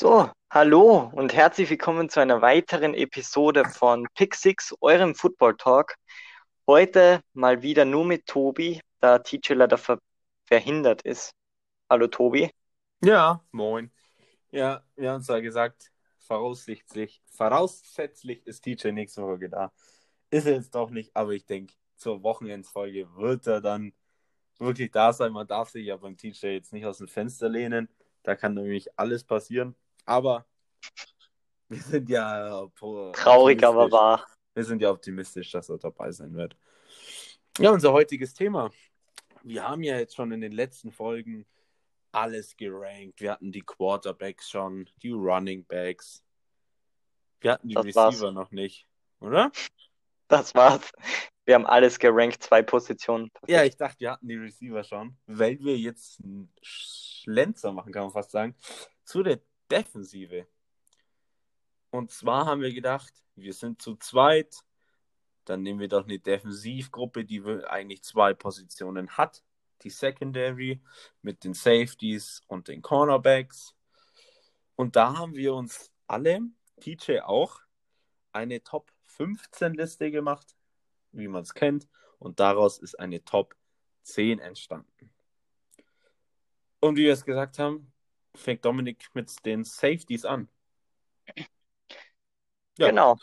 So, hallo und herzlich willkommen zu einer weiteren Episode von Pick Six, eurem Football Talk. Heute mal wieder nur mit Tobi, da TJ leider verhindert ist. Hallo Tobi. Ja, moin. Ja, wir haben zwar gesagt, voraussetzlich ist TJ nächste Woche da. Ist er jetzt doch nicht, aber ich denke, zur Wochenendsfolge wird er dann wirklich da sein. Man darf sich ja beim TJ jetzt nicht aus dem Fenster lehnen. Da kann nämlich alles passieren. Aber wir sind ja Traurig, aber optimistisch. wahr. Wir sind ja optimistisch, dass er dabei sein wird. Ja, unser heutiges Thema. Wir haben ja jetzt schon in den letzten Folgen alles gerankt. Wir hatten die Quarterbacks schon, die Running Backs. Wir hatten die Das war's. Receiver noch nicht, oder? Das war's. Wir haben alles gerankt, 2 Positionen. Ja, ich Perfekt. dachte, wir hatten die Receiver schon, weil wir jetzt einen Schlenzer machen, kann man fast sagen, zu der Defensive. Und zwar haben wir gedacht, wir sind zu zweit, dann nehmen wir doch eine Defensivgruppe, die eigentlich 2 Positionen hat. Die Secondary mit den Safeties und den Cornerbacks. Und da haben wir uns alle, TJ auch, eine Top 15 Liste gemacht, wie man es kennt. Und daraus ist eine Top 10 entstanden. Und wie wir es gesagt haben, fängt Dominik mit den Safeties an. Ja, Genau.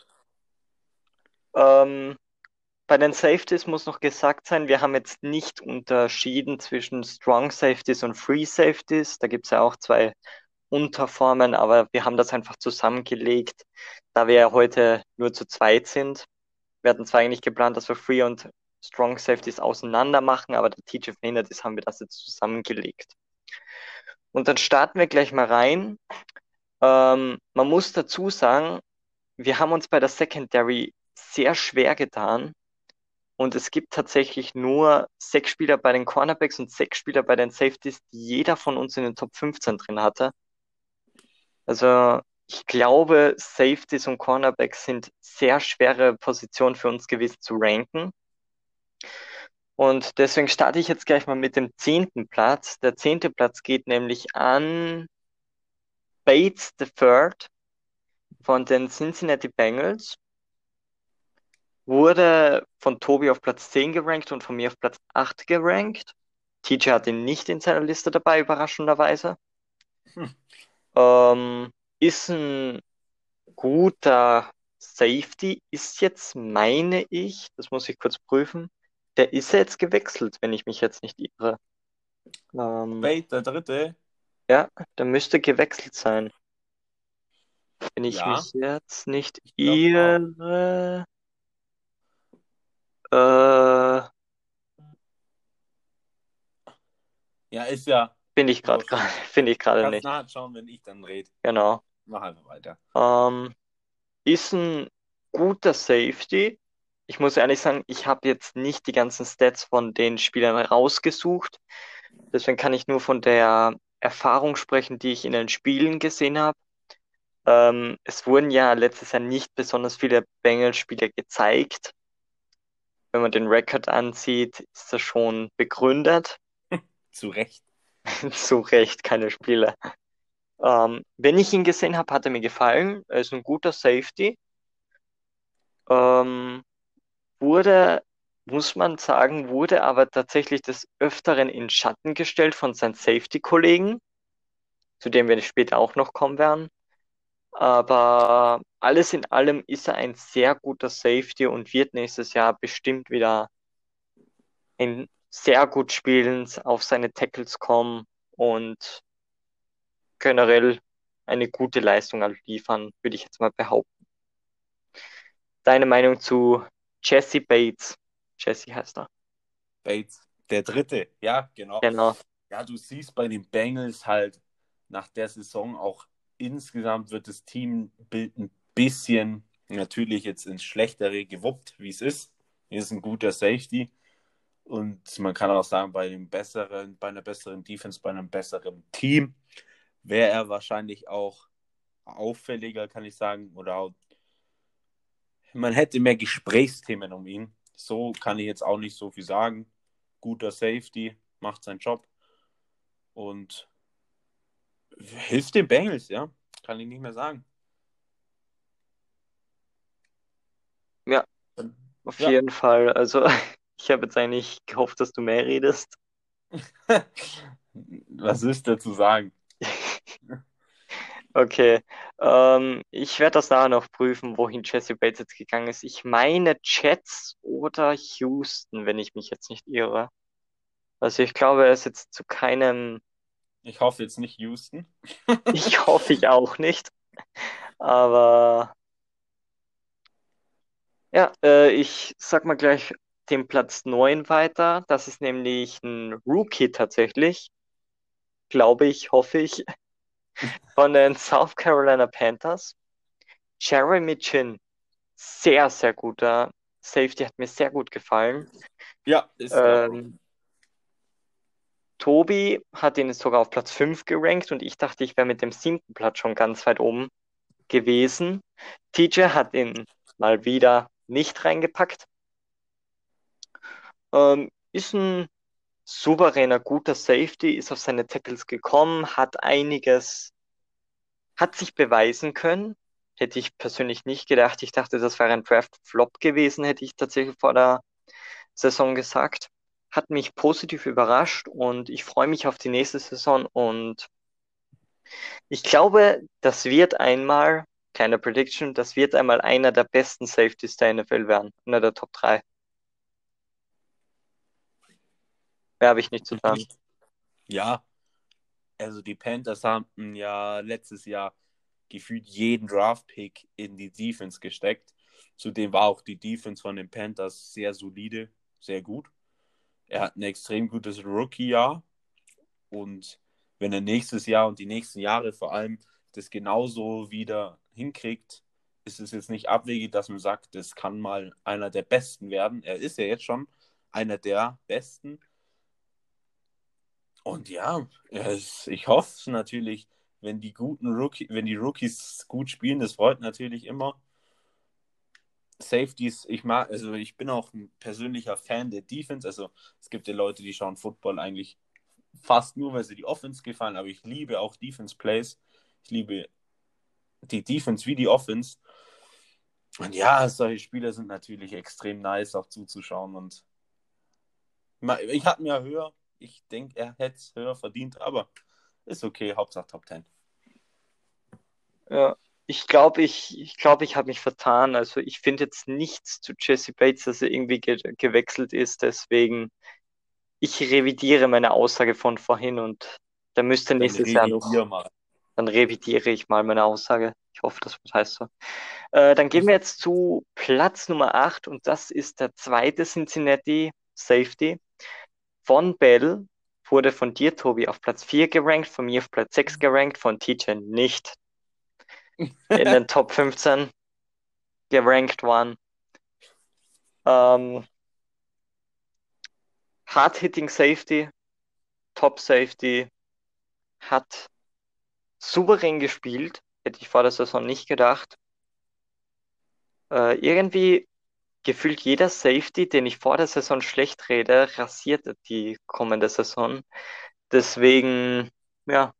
Ähm, Bei den Safeties muss noch gesagt sein, wir haben jetzt nicht unterschieden zwischen Strong Safeties und Free Safeties. Da gibt es ja auch 2 Unterformen, aber wir haben das einfach zusammengelegt, da wir ja heute nur zu zweit sind. Wir hatten zwar eigentlich geplant, dass wir Free und Strong Safeties auseinander machen, aber der Teacher verhindert ist, haben wir das jetzt zusammengelegt. Und dann starten wir gleich mal rein. Man muss dazu sagen, wir haben uns bei der Secondary sehr schwer getan und es gibt tatsächlich nur 6 Spieler bei den Cornerbacks und 6 Spieler bei den Safeties, die jeder von uns in den Top 15 drin hatte. Also ich glaube, Safeties und Cornerbacks sind sehr schwere Positionen für uns gewesen zu ranken. Und deswegen starte ich jetzt gleich mal mit dem 10. Platz. Der 10. Platz geht nämlich an Bates the Third von den Cincinnati Bengals. Wurde von Tobi auf Platz 10 gerankt und von mir auf Platz 8 gerankt. TJ hat ihn nicht in seiner Liste dabei, überraschenderweise. hm. Ist ein guter Safety, ist jetzt, meine ich, das muss ich kurz prüfen, der ist ja jetzt gewechselt, wenn ich mich jetzt nicht irre. Ähm, Bate, der dritte. ja, der müsste gewechselt sein, wenn ich Ja, mich jetzt nicht ich glaube auch. irre. Äh, Ja, ist ja Finde ich gerade, wurscht. finde ich gerade Kannst nicht. nachschauen, wenn ich dann rede. Genau. Mach einfach weiter. Ähm, Ist ein guter Safety. Ich muss ehrlich sagen, ich habe jetzt nicht die ganzen Stats von den Spielern rausgesucht. Deswegen kann ich nur von der Erfahrung sprechen, die ich in den Spielen gesehen habe. Es wurden ja letztes Jahr nicht besonders viele Bengals-Spieler gezeigt. Wenn man den Rekord ansieht, ist das schon begründet. Zu Recht. Zu Recht keine Spieler. Wenn ich ihn gesehen habe, hat er mir gefallen. Er ist ein guter Safety. Ähm, wurde, muss man sagen, wurde aber tatsächlich des Öfteren in Schatten gestellt von seinen Safety-Kollegen, zu dem wir später auch noch kommen werden. Aber alles in allem ist er ein sehr guter Safety und wird nächstes Jahr bestimmt wieder ein sehr gut spielen, auf seine Tackles kommen und generell eine gute Leistung liefern, würde ich jetzt mal behaupten. Deine Meinung zu Jesse Bates? Jesse heißt er. Bates, der dritte. Ja, genau. Genau. Ja, du siehst bei den Bengals halt nach der Saison auch insgesamt wird das Teambild ein bisschen natürlich jetzt ins Schlechtere gewuppt, wie es ist. Hier ist ein guter Safety und man kann auch sagen, bei einer besseren Defense, bei einem besseren Team wäre er wahrscheinlich auch auffälliger, kann ich sagen, oder auch, man hätte mehr Gesprächsthemen um ihn. So kann ich jetzt auch nicht so viel sagen. Guter Safety, macht seinen Job und hilft den Bengals, ja. Kann ich nicht mehr sagen. Ja, auf Ja. jeden Fall. Also, ich habe jetzt eigentlich gehofft, dass du mehr redest. Was ist da zu sagen? Okay, ich werde das nachher noch prüfen, wohin Jesse Bates jetzt gegangen ist. Ich meine Jets oder Houston, wenn ich mich jetzt nicht irre. Also ich glaube, er ist jetzt zu keinem, Ich hoffe jetzt nicht Houston. ich hoffe ich auch nicht, aber ja, ich sag mal gleich den Platz 9 weiter. Das ist nämlich ein Rookie tatsächlich, glaube ich, hoffe ich, von den South Carolina Panthers. Jeremy Chin, sehr, sehr guter Safety, hat mir sehr gut gefallen. Ja, ist er auch. Ähm, Tobi hat ihn sogar auf Platz 5 gerankt und ich dachte, ich wäre mit dem 7. Platz schon ganz weit oben gewesen. TJ hat ihn mal wieder nicht reingepackt. Ist ein souveräner, guter Safety, ist auf seine Tackles gekommen, hat sich beweisen können. Hätte ich persönlich nicht gedacht. Ich dachte, das wäre ein Draft-Flop gewesen, hätte ich tatsächlich vor der Saison gesagt. Hat mich positiv überrascht und ich freue mich auf die nächste Saison und ich glaube, kleine Prediction, das wird einmal einer der besten Safeties der NFL werden, einer der Top 3. Mehr habe ich nicht zu sagen. Ja, also die Panthers haben ja letztes Jahr gefühlt jeden Draft-Pick in die Defense gesteckt. Zudem war auch die Defense von den Panthers sehr solide, sehr gut. Er hat ein extrem gutes Rookie-Jahr und wenn er nächstes Jahr und die nächsten Jahre vor allem das genauso wieder hinkriegt, ist es jetzt nicht abwegig, dass man sagt, das kann mal einer der Besten werden. Er ist ja jetzt schon einer der Besten. Und ja, ich hoffe natürlich, wenn die Rookies gut spielen, das freut natürlich immer. Safeties, also ich bin auch ein persönlicher Fan der Defense. Also es gibt ja Leute, die schauen Football eigentlich fast nur, weil sie die Offense gefallen, aber ich liebe auch Defense Plays. Ich liebe die Defense wie die Offense. Und ja, solche Spieler sind natürlich extrem nice auch zuzuschauen. Und ich hatte mir höher, ich denke, er hätte es höher verdient, aber ist okay, Hauptsache Top 10. Ja, ich glaube, ich habe mich vertan. Also ich finde jetzt nichts zu Jesse Bates, dass er irgendwie gewechselt ist. Deswegen, ich revidiere meine Aussage von vorhin und da müsste Dann nächstes Jahr noch, revidier mal. dann revidiere ich mal meine Aussage. Ich hoffe, das heißt so. Dann gehen wir jetzt zu Platz Nummer 8 und das ist der zweite Cincinnati Safety. Von Bell wurde von dir, Tobi, auf Platz 4 gerankt, von mir auf Platz 6 gerankt, von TJ nicht in den Top 15 gerankt waren. Ähm, Hard-Hitting Safety, Top Safety, hat souverän gespielt, hätte ich vor der Saison nicht gedacht. Irgendwie gefühlt jeder Safety, den ich vor der Saison schlecht rede, rasiert die kommende Saison. Deswegen, ja,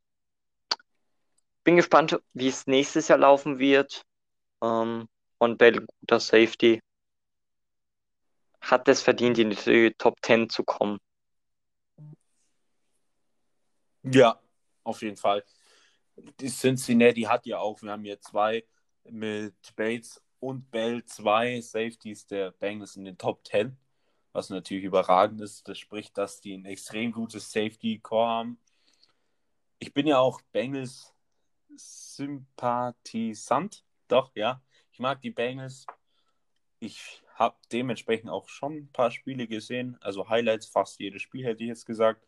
bin gespannt, wie es nächstes Jahr laufen wird. Von Bell, guter Safety, hat es verdient, in die Top 10 zu kommen. Ja, auf jeden Fall. Die Cincinnati hat ja auch, wir haben hier zwei mit Bates und Bell, zwei Safeties der Bengals in den Top 10, was natürlich überragend ist. Das spricht, dass die ein extrem gutes Safety-Core haben. Ich bin ja auch Bengals Sympathisant, doch, ja. Ich mag die Bengals. Ich habe dementsprechend auch schon ein paar Spiele gesehen, also Highlights, fast jedes Spiel hätte ich jetzt gesagt.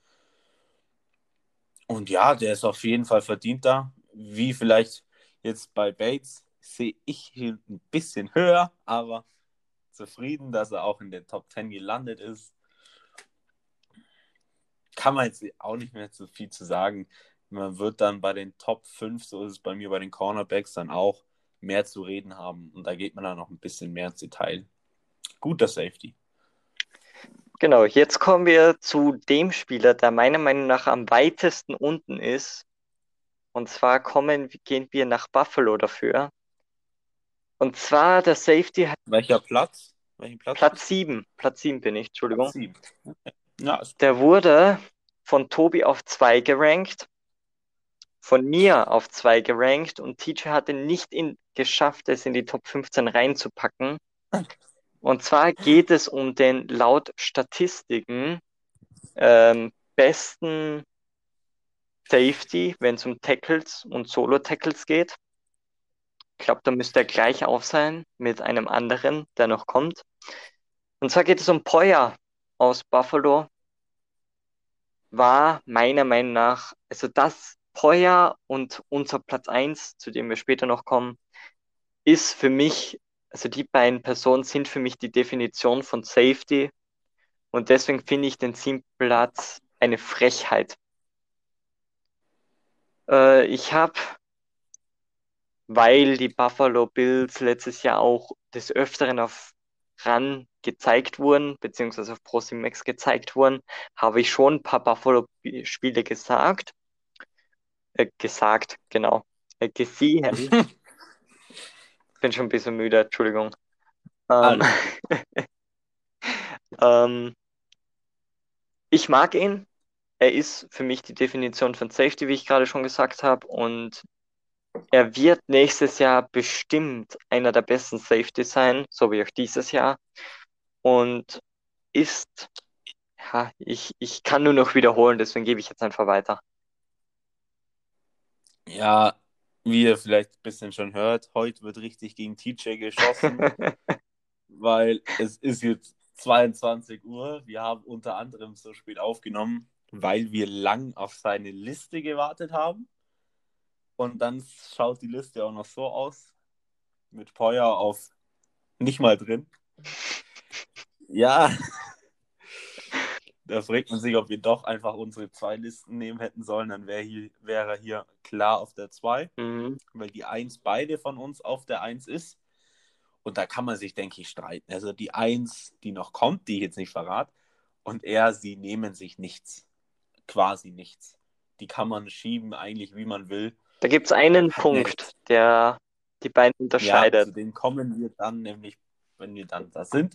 Und ja, der ist auf jeden Fall verdient da. Wie vielleicht jetzt bei Bates sehe ich ihn ein bisschen höher, aber zufrieden, dass er auch in der Top 10 gelandet ist. Kann man jetzt auch nicht mehr so viel zu sagen. Man wird dann bei den Top 5, so ist es bei mir bei den Cornerbacks, dann auch mehr zu reden haben. Und da geht man dann noch ein bisschen mehr ins Detail. Guter Safety. Genau, jetzt kommen wir zu dem Spieler, der meiner Meinung nach am weitesten unten ist. Und zwar gehen wir nach Buffalo dafür. Und zwar der Safety hat Welcher Platz? Welchen Platz Platz bist du? 7. Platz 7 bin ich, Platz Entschuldigung. 7. Ja, ist Der wurde von Tobi auf 2 gerankt, von mir auf 2 gerankt und TJ hatte nicht geschafft, es in die Top 15 reinzupacken. Und zwar geht es um den laut Statistiken besten Safety, wenn es um Tackles und Solo-Tackles geht. Ich glaube, da müsste er gleich auf sein mit einem anderen, der noch kommt. Und zwar geht es um Poyer aus Buffalo. War meiner Meinung nach, also das Poyer und unser Platz 1, zu dem wir später noch kommen, ist für mich, also die beiden Personen sind für mich die Definition von Safety und deswegen finde ich den 7. Platz eine Frechheit. Ich habe, weil die Buffalo Bills letztes Jahr auch des Öfteren auf RAN gezeigt wurden, beziehungsweise auf ProSimax gezeigt wurden, habe ich schon ein paar Buffalo-Spiele genau, gesehen. Bin schon ein bisschen müde, Entschuldigung. Ähm, alles gut. ähm, ich mag ihn. Er ist für mich die Definition von Safety, wie ich gerade schon gesagt habe. Und er wird nächstes Jahr bestimmt einer der besten Safety sein, so wie auch dieses Jahr. Und ist, ja, ich kann nur noch wiederholen, deswegen gebe ich jetzt einfach weiter. Ja, wie ihr vielleicht ein bisschen schon hört, heute wird richtig gegen TJ geschossen, weil es ist jetzt 22 Uhr. Wir haben unter anderem so spät aufgenommen, weil wir lang auf seine Liste gewartet haben. Und dann schaut die Liste auch noch so aus, mit Poyer auf nicht mal drin. Ja, da fragt man sich, ob wir doch einfach unsere 2 Listen nehmen hätten sollen. Dann wäre er hier klar auf der 2, Mhm. weil die 1 beide von uns auf der 1 ist. Und da kann man sich, denke ich, streiten. Also die 1, die noch kommt, die ich jetzt nicht verrate, und sie nehmen sich nichts. Quasi nichts. Die kann man schieben, eigentlich wie man will. Da gibt es einen Hat eine, Punkt, der die beiden ja, unterscheidet. zu denen kommen wir dann, nämlich, wenn wir dann da sind.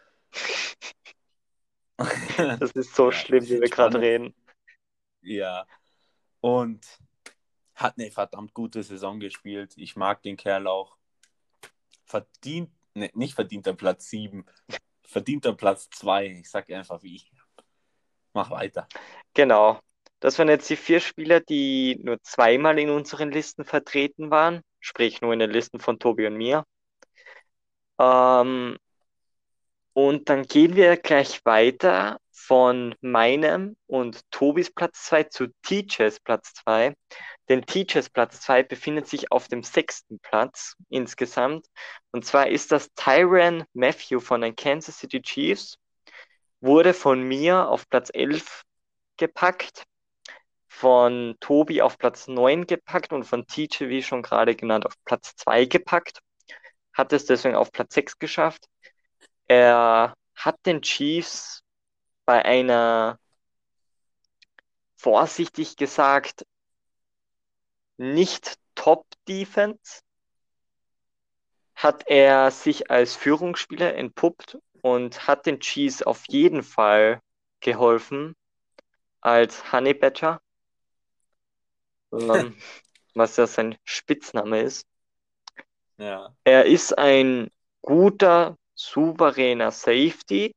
Das ist so Ja, schlimm, wie wir gerade spannend. reden. Ja. Und hat eine verdammt gute Saison gespielt. Ich mag den Kerl auch. Verdient, ne, nicht verdienter Platz 7, verdienter Platz 2. Ich sage einfach wie ich. Mach weiter. Genau. Das waren jetzt die 4 Spieler, die nur zweimal in unseren Listen vertreten waren, sprich nur in den Listen von Tobi und mir. Ähm, und dann gehen wir gleich weiter von meinem und Tobis Platz 2 zu Teachers Platz 2. Denn Teachers Platz 2 befindet sich auf dem 6. Platz insgesamt. Und zwar ist das Tyrann Mathieu von den Kansas City Chiefs. Wurde von mir auf Platz 11 gepackt, von Tobi auf Platz 9 gepackt und von TJ, wie schon gerade genannt, auf Platz 2 gepackt. Hat es deswegen auf Platz 6 geschafft. Er hat den Chiefs bei einer, vorsichtig gesagt, nicht Top-Defense, hat er sich als Führungsspieler entpuppt und hat den Chiefs auf jeden Fall geholfen als Honey Badger, ähm, was ja sein Spitzname ist. Ja. Er ist ein guter, souveräner Safety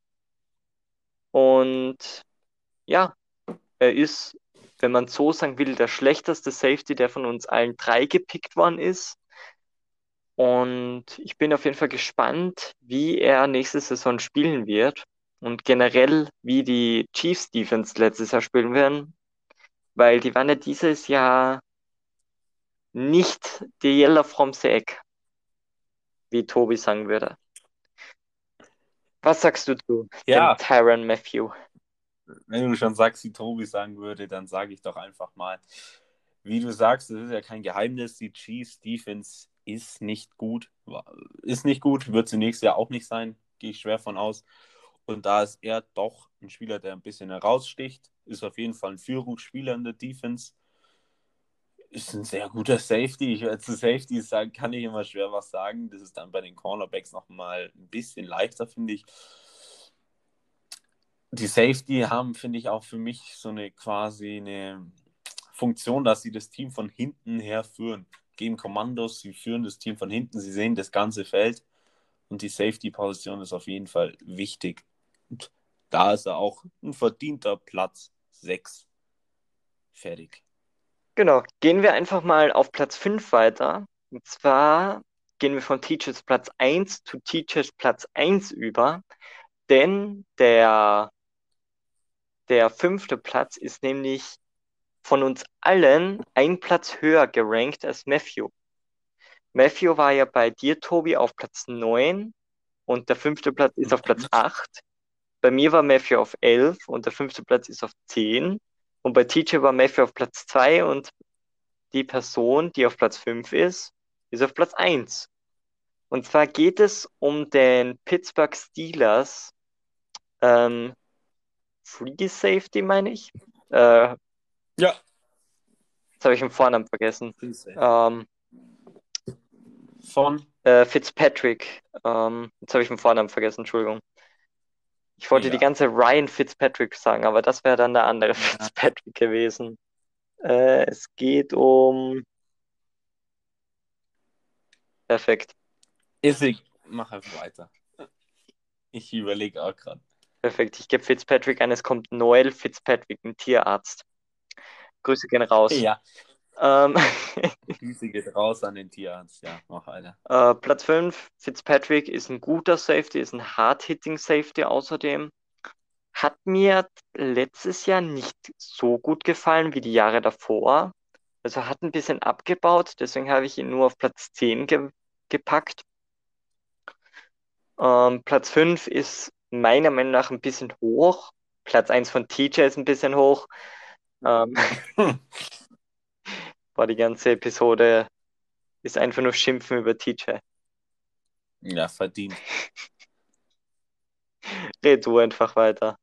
und ja, er ist, wenn man so sagen will, der schlechteste Safety, der von uns allen 3 gepickt worden ist. Und ich bin auf jeden Fall gespannt, wie er nächste Saison spielen wird und generell, wie die Chiefs Defense letztes Jahr spielen werden, weil die waren ja dieses Jahr nicht die Yellow from the Egg, wie Tobi sagen würde. Was sagst du zu dem Ja, Tyrann Mathieu? wenn du schon sagst, wie Tobi sagen würde, dann sage ich doch einfach mal, wie du sagst, das ist ja kein Geheimnis, die Chiefs Defense ist nicht gut. Ist nicht gut, wird sie nächstes Jahr auch nicht sein, gehe ich schwer von aus. Und da ist er doch ein Spieler, der ein bisschen heraussticht, ist auf jeden Fall ein Führungsspieler in der Defense, ist ein sehr guter Safety. Zu Safeties sagen, kann ich immer schwer was sagen. Das ist dann bei den Cornerbacks nochmal ein bisschen leichter, finde ich. Die Safety haben, finde ich, auch für mich so eine quasi eine Funktion, dass sie das Team von hinten her führen. Geben Kommandos, sie führen das Team von hinten, sie sehen das ganze Feld und die Safety-Position ist auf jeden Fall wichtig. Und da ist er auch ein verdienter Platz 6. Fertig. Genau, gehen wir einfach mal auf Platz 5 weiter. Und zwar gehen wir von Teachers Platz 1 zu Teachers Platz 1 über, denn der 5. Platz ist nämlich von uns allen ein Platz höher gerankt als Matthew. Matthew war ja bei dir, Tobi, auf Platz 9 und der 5. Platz ist auf Platz 8. Bei mir war Matthew auf 11 und der 5. Platz ist auf 10. Und bei TJ war Matthew auf Platz 2 und die Person, die auf Platz 5 ist auf Platz 1. Und zwar geht es um den Pittsburgh Steelers ähm, Free Safety, meine ich. Jetzt Ja. habe ich den Vornamen vergessen. Von? Fitzpatrick. Jetzt habe ich den Vornamen vergessen, Entschuldigung. Ich wollte die Egal. ganze Ryan Fitzpatrick sagen, aber das wäre dann der andere Fitzpatrick gewesen. Es geht um. Perfekt. Mach einfach weiter. Ich überlege auch gerade. Perfekt. Ich gebe Fitzpatrick ein. Es kommt Noel Fitzpatrick, ein Tierarzt. Grüße gehen raus. Ja, Ähm, Grüße geht raus an den Tierarzt. Ja, mach weiter. Platz 5, Fitzpatrick ist ein guter Safety, ist ein Hard-Hitting Safety außerdem. Hat mir letztes Jahr nicht so gut gefallen wie die Jahre davor. Also hat ein bisschen abgebaut, deswegen habe ich ihn nur auf Platz 10 gepackt. Platz 5 ist meiner Meinung nach ein bisschen hoch. Platz 1 von TJ ist ein bisschen hoch. Ähm, War die ganze Episode ist einfach nur Schimpfen über TJ. Ja, verdient. Red du einfach weiter.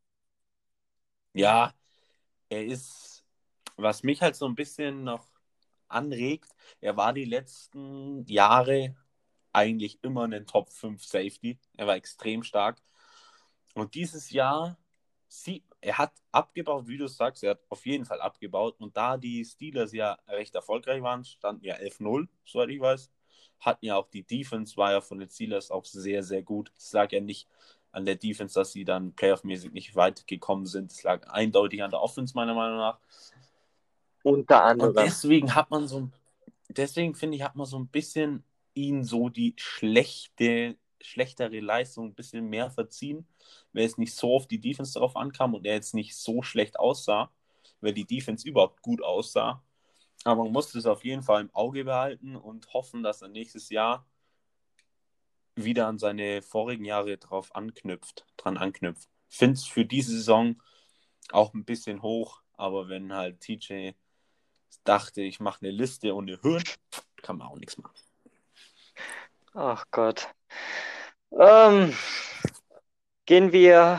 Ja, er ist, was mich halt so ein bisschen noch anregt, er war die letzten Jahre eigentlich immer ein Top 5 Safety. Er war extrem stark. Und dieses Jahr, er hat abgebaut, wie du sagst, er hat auf jeden Fall abgebaut. Und da die Steelers ja recht erfolgreich waren, standen ja 11-0, soweit ich weiß, hatten ja auch die Defense, war ja von den Steelers auch sehr, sehr gut. Es lag ja nicht an der Defense, dass sie dann playoff-mäßig nicht weit gekommen sind. Es lag eindeutig an der Offense, meiner Meinung nach. Unter Und anderem. deswegen finde ich, hat man so ein bisschen ihn so die schlechtere Leistung ein bisschen mehr verziehen, weil es nicht so auf die Defense darauf ankam und er jetzt nicht so schlecht aussah, weil die Defense überhaupt gut aussah. Aber man muss es auf jeden Fall im Auge behalten und hoffen, dass er nächstes Jahr wieder an seine vorigen Jahre dran anknüpft. Finde es für diese Saison auch ein bisschen hoch, aber wenn halt TJ dachte, ich mache eine Liste ohne Höhen, kann man auch nichts machen. Ach Gott. Ähm, Gehen wir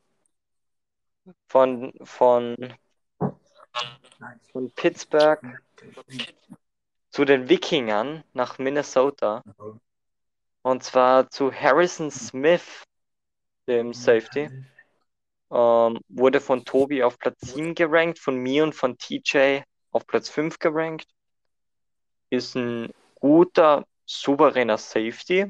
von Pittsburgh zu den Wikingern nach Minnesota. Und zwar zu Harrison Smith, dem Safety. Wurde von Tobi auf Platz 7 gerankt, von mir und von TJ auf Platz 5 gerankt. Ist ein guter, souveräner Safety.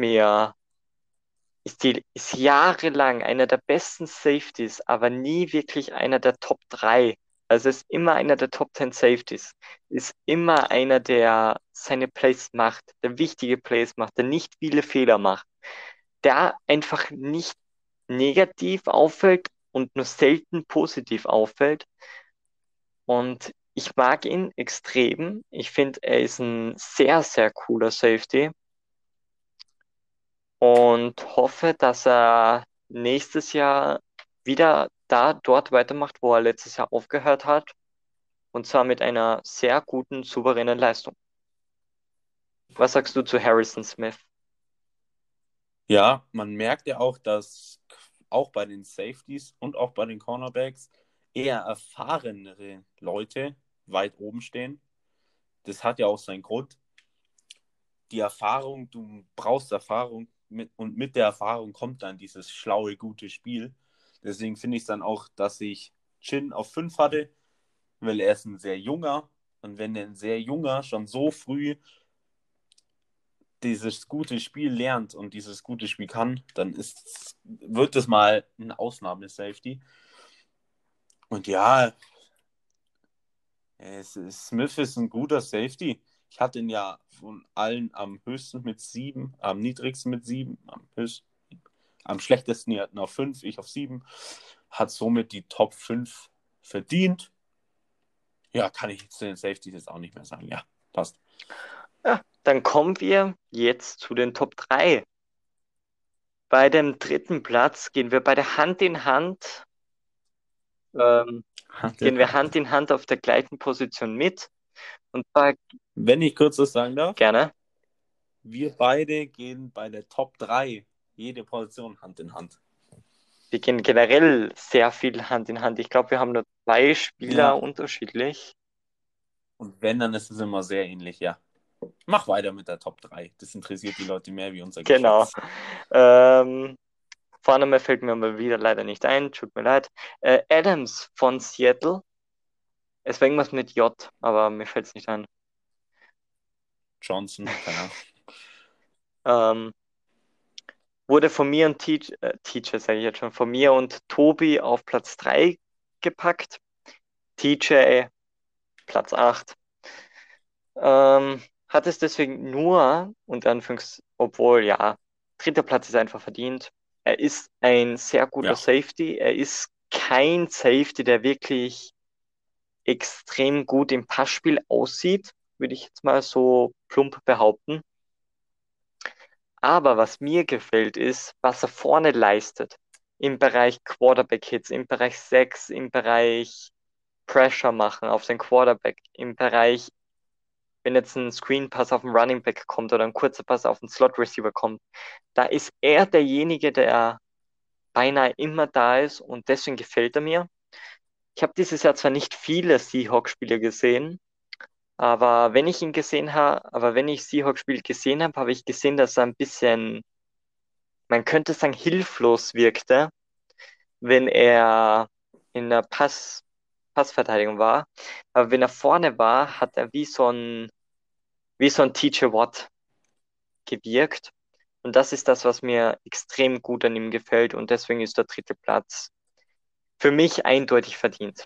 Ist jahrelang einer der besten Safeties, aber nie wirklich einer der Top 3. Also ist immer einer der Top 10 Safeties. Ist immer einer, der seine Plays macht, der wichtige Plays macht, der nicht viele Fehler macht, der einfach nicht negativ auffällt und nur selten positiv auffällt. Und ich mag ihn extrem. Ich finde, er ist ein sehr, sehr cooler Safety und hoffe, dass er nächstes Jahr wieder dort weitermacht, wo er letztes Jahr aufgehört hat. Und zwar mit einer sehr guten, souveränen Leistung. Was sagst du zu Harrison Smith? Ja, man merkt ja auch, dass auch bei den Safeties und auch bei den Cornerbacks eher erfahrenere Leute weit oben stehen. das hat ja auch seinen Grund. Die Erfahrung, du brauchst Erfahrung und mit der Erfahrung kommt dann dieses schlaue, gute Spiel. Deswegen finde ich es dann auch, dass ich Chin auf 5 hatte, weil er ist ein sehr junger und wenn ein sehr junger schon so früh dieses gute Spiel lernt und dieses gute Spiel kann, dann wird es mal ein Ausnahme-Safety. Und ja, Smith ist ein guter Safety. Ich hatte ihn ja von allen am höchsten mit 7, am niedrigsten mit 7, am schlechtesten die hatten auf 5, ich auf 7. Hat somit die Top 5 verdient. Ja, kann ich zu den Safeties jetzt auch nicht mehr sagen. Ja, passt. Ja, dann kommen wir jetzt zu den Top 3. Bei dem dritten Platz gehen wir beide Hand in Hand, ähm, gehen wir Hand in Hand auf der gleichen Position mit. Und zwar Wenn ich kurz was sagen darf, gerne. wir beide gehen bei der Top 3 jede Position Hand in Hand. Wir gehen generell sehr viel Hand in Hand. Ich glaube, wir haben nur 2 Spieler Ja. unterschiedlich. Und wenn, dann ist es immer sehr ähnlich, ja. Mach weiter mit der Top 3. Das interessiert die Leute mehr wie unser Genau. Geschwätz. Vorname fällt mir mal wieder leider nicht ein, tut mir leid. Adams von Seattle. Es war irgendwas mit J, aber mir fällt es nicht ein. Johnson, keine Ahnung. Wurde von mir und Teacher, sage ich jetzt schon, von mir und Tobi auf Platz 3 gepackt. TJ Platz 8. Hat es deswegen nur, unter Anführungs, obwohl, ja, dritter Platz ist einfach verdient. Er ist ein sehr guter Ja. Safety. Er ist kein Safety, der wirklich extrem gut im Passspiel aussieht, würde ich jetzt mal so plump behaupten. Aber was mir gefällt, ist, was er vorne leistet. Im Bereich Quarterback-Hits, im Bereich Sacks, im Bereich Pressure machen auf den Quarterback, im Bereich, wenn jetzt ein Screen-Pass auf den Running Back kommt oder ein kurzer Pass auf den Slot-Receiver kommt, da ist er derjenige, der beinahe immer da ist und deswegen gefällt er mir. Ich habe dieses Jahr zwar nicht viele Seahawks-Spiele gesehen, aber wenn ich Seahawks-Spiel gesehen habe, habe ich gesehen, dass er ein bisschen, man könnte sagen, hilflos wirkte, wenn er in der Passverteidigung war. Aber wenn er vorne war, hat er wie so ein TJ Watt gewirkt. Und das ist das, was mir extrem gut an ihm gefällt. Und deswegen ist der dritte Platz für mich eindeutig verdient.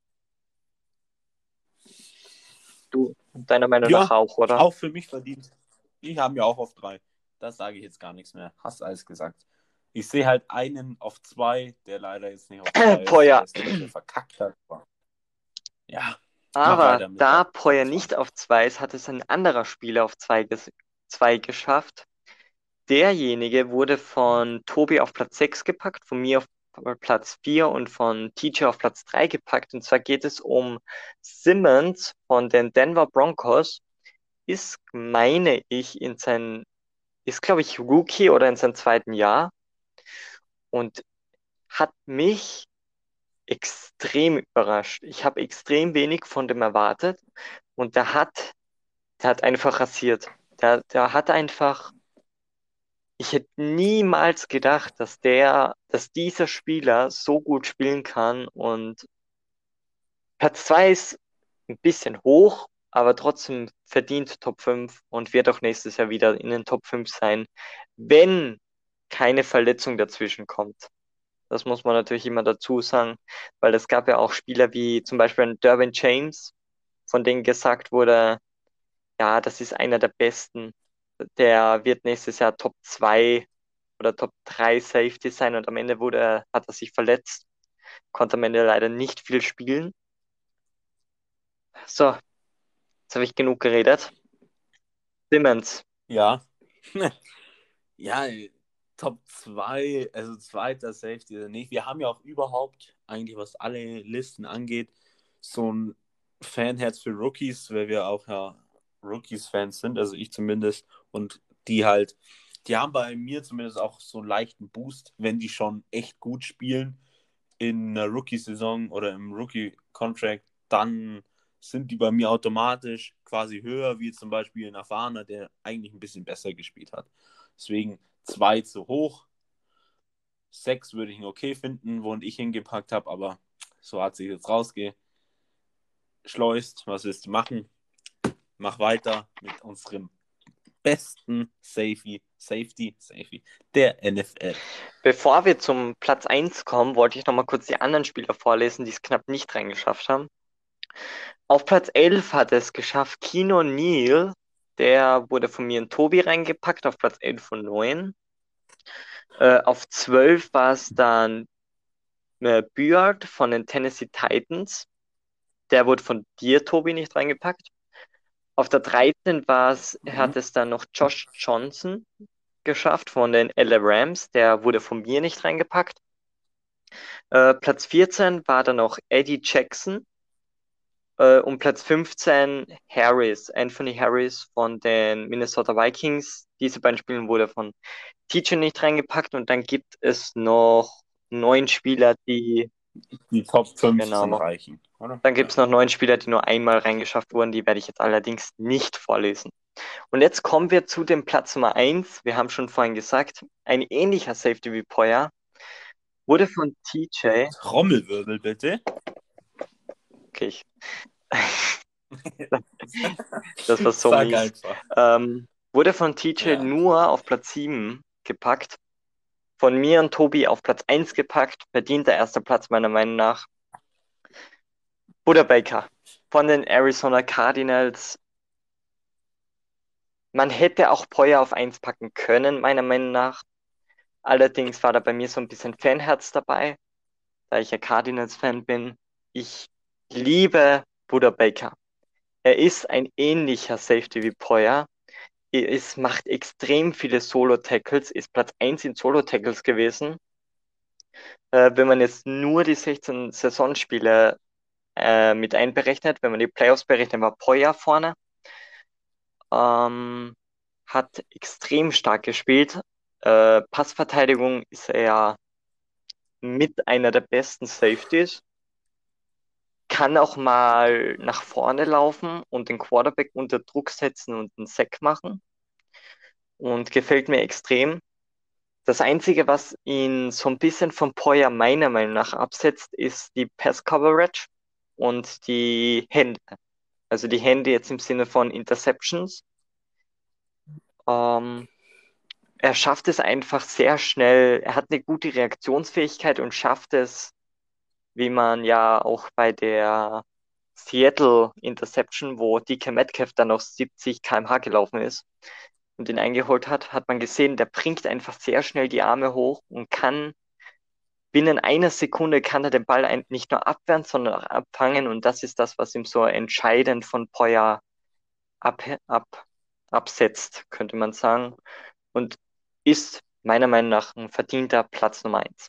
Du, deiner Meinung nach Ja, auch, oder? auch für mich verdient. Ich habe ja auch auf 3. Das sage ich jetzt gar nichts mehr. Hast alles gesagt. Ich sehe halt einen auf 2, der leider jetzt nicht auf 2 Boah, ist, ja. weil es ein bisschen verkackt hat. Ja, mach Aber weiter mit da der Poyer Top 2. nicht auf 2 ist, hat es ein anderer Spieler auf 2 geschafft. Derjenige wurde von Tobi auf Platz 6 gepackt, von mir auf Platz 4 und von TJ auf Platz 3 gepackt. Und zwar geht es um Simmons von den Denver Broncos. Ist, meine ich, ist, glaube ich, Rookie oder in seinem zweiten Jahr und hat mich extrem überrascht. Ich habe extrem wenig von dem erwartet und der hat einfach rasiert. Der hat einfach, ich hätte niemals gedacht, dass dieser Spieler so gut spielen kann und Platz 2 ist ein bisschen hoch, aber trotzdem verdient Top 5 und wird auch nächstes Jahr wieder in den Top 5 sein, wenn keine Verletzung dazwischen kommt. Das muss man natürlich immer dazu sagen, weil es gab ja auch Spieler wie zum Beispiel ein Derwin James, von denen gesagt wurde, ja, das ist einer der besten. Der wird nächstes Jahr Top 2 oder Top 3 Safety sein und am Ende hat er sich verletzt, konnte am Ende leider nicht viel spielen. So, jetzt habe ich genug geredet. Simmons. Ja. Ja, Top 2, also zweiter Safety oder nicht. Wir haben ja auch überhaupt, eigentlich was alle Listen angeht, so ein Fanherz für Rookies, weil wir auch ja Rookies-Fans sind, also ich zumindest. Und die haben bei mir zumindest auch so einen leichten Boost, wenn die schon echt gut spielen in einer Rookie-Saison oder im Rookie-Contract, dann sind die bei mir automatisch quasi höher, wie zum Beispiel ein erfahrener, der eigentlich ein bisschen besser gespielt hat. Deswegen 2 zu hoch. 6 würde ich ihn okay finden, wo ich hingepackt habe, aber so hat sich jetzt rausgeschleust. Was willst du machen? Mach weiter mit unserem besten Safety der NFL. Bevor wir zum Platz 1 kommen, wollte ich nochmal kurz die anderen Spieler vorlesen, die es knapp nicht reingeschafft haben. Auf Platz 11 hat es geschafft Keno Neal. Der wurde von mir und Tobi reingepackt auf Platz 11 von 9. Auf 12 war es dann Byard von den Tennessee Titans. Der wurde von dir, Tobi, nicht reingepackt. Auf der 13 hat es dann noch Josh Johnson geschafft von den LA Rams. Der wurde von mir nicht reingepackt. Platz 14 war dann noch Eddie Jackson. Und Platz 15 Anthony Harris von den Minnesota Vikings. Diese beiden Spiele wurde von TJ nicht reingepackt. Und dann gibt es noch 9 Spieler, die Top 15 genau, reichen, oder? dann gibt es noch 9 Spieler, die nur einmal reingeschafft wurden. Die werde ich jetzt allerdings nicht vorlesen. Und jetzt kommen wir zu dem Platz Nummer 1. Wir haben schon vorhin gesagt, ein ähnlicher Safety wie Poyer wurde von TJ. Trommelwirbel bitte. Okay, das war so Sag mies. einfach. Wurde von TJ Ja. nur auf Platz 7 gepackt. Von mir und Tobi auf Platz 1 gepackt. Verdienter erster Platz meiner Meinung nach. Buda Baker von den Arizona Cardinals. Man hätte auch Poyer auf 1 packen können, meiner Meinung nach. Allerdings war da bei mir so ein bisschen Fanherz dabei, da ich ja Cardinals-Fan bin. Ich liebe Buda Baker. Er ist ein ähnlicher Safety wie Poyer. Macht extrem viele Solo-Tackles, ist Platz 1 in Solo-Tackles gewesen. Wenn man jetzt nur die 16 Saisonspiele mit einberechnet, wenn man die Playoffs berechnet, war Poyer vorne. Hat extrem stark gespielt. Passverteidigung ist er ja mit einer der besten Safeties. Kann auch mal nach vorne laufen und den Quarterback unter Druck setzen und einen Sack machen. Und gefällt mir extrem. Das Einzige, was ihn so ein bisschen von Poyer meiner Meinung nach absetzt, ist die Pass-Coverage und die Hände. Also die Hände jetzt im Sinne von Interceptions. Ähm, Er schafft es einfach sehr schnell. Er hat eine gute Reaktionsfähigkeit und schafft es, wie man ja auch bei der Seattle Interception, wo DK Metcalf dann noch 70 km/h gelaufen ist und ihn eingeholt hat, hat man gesehen, der bringt einfach sehr schnell die Arme hoch und kann binnen einer Sekunde kann er den Ball nicht nur abwehren, sondern auch abfangen. Und das ist das, was ihm so entscheidend von Poyer ab, ab, absetzt, könnte man sagen. Und ist meiner Meinung nach ein verdienter Platz Nummer 1.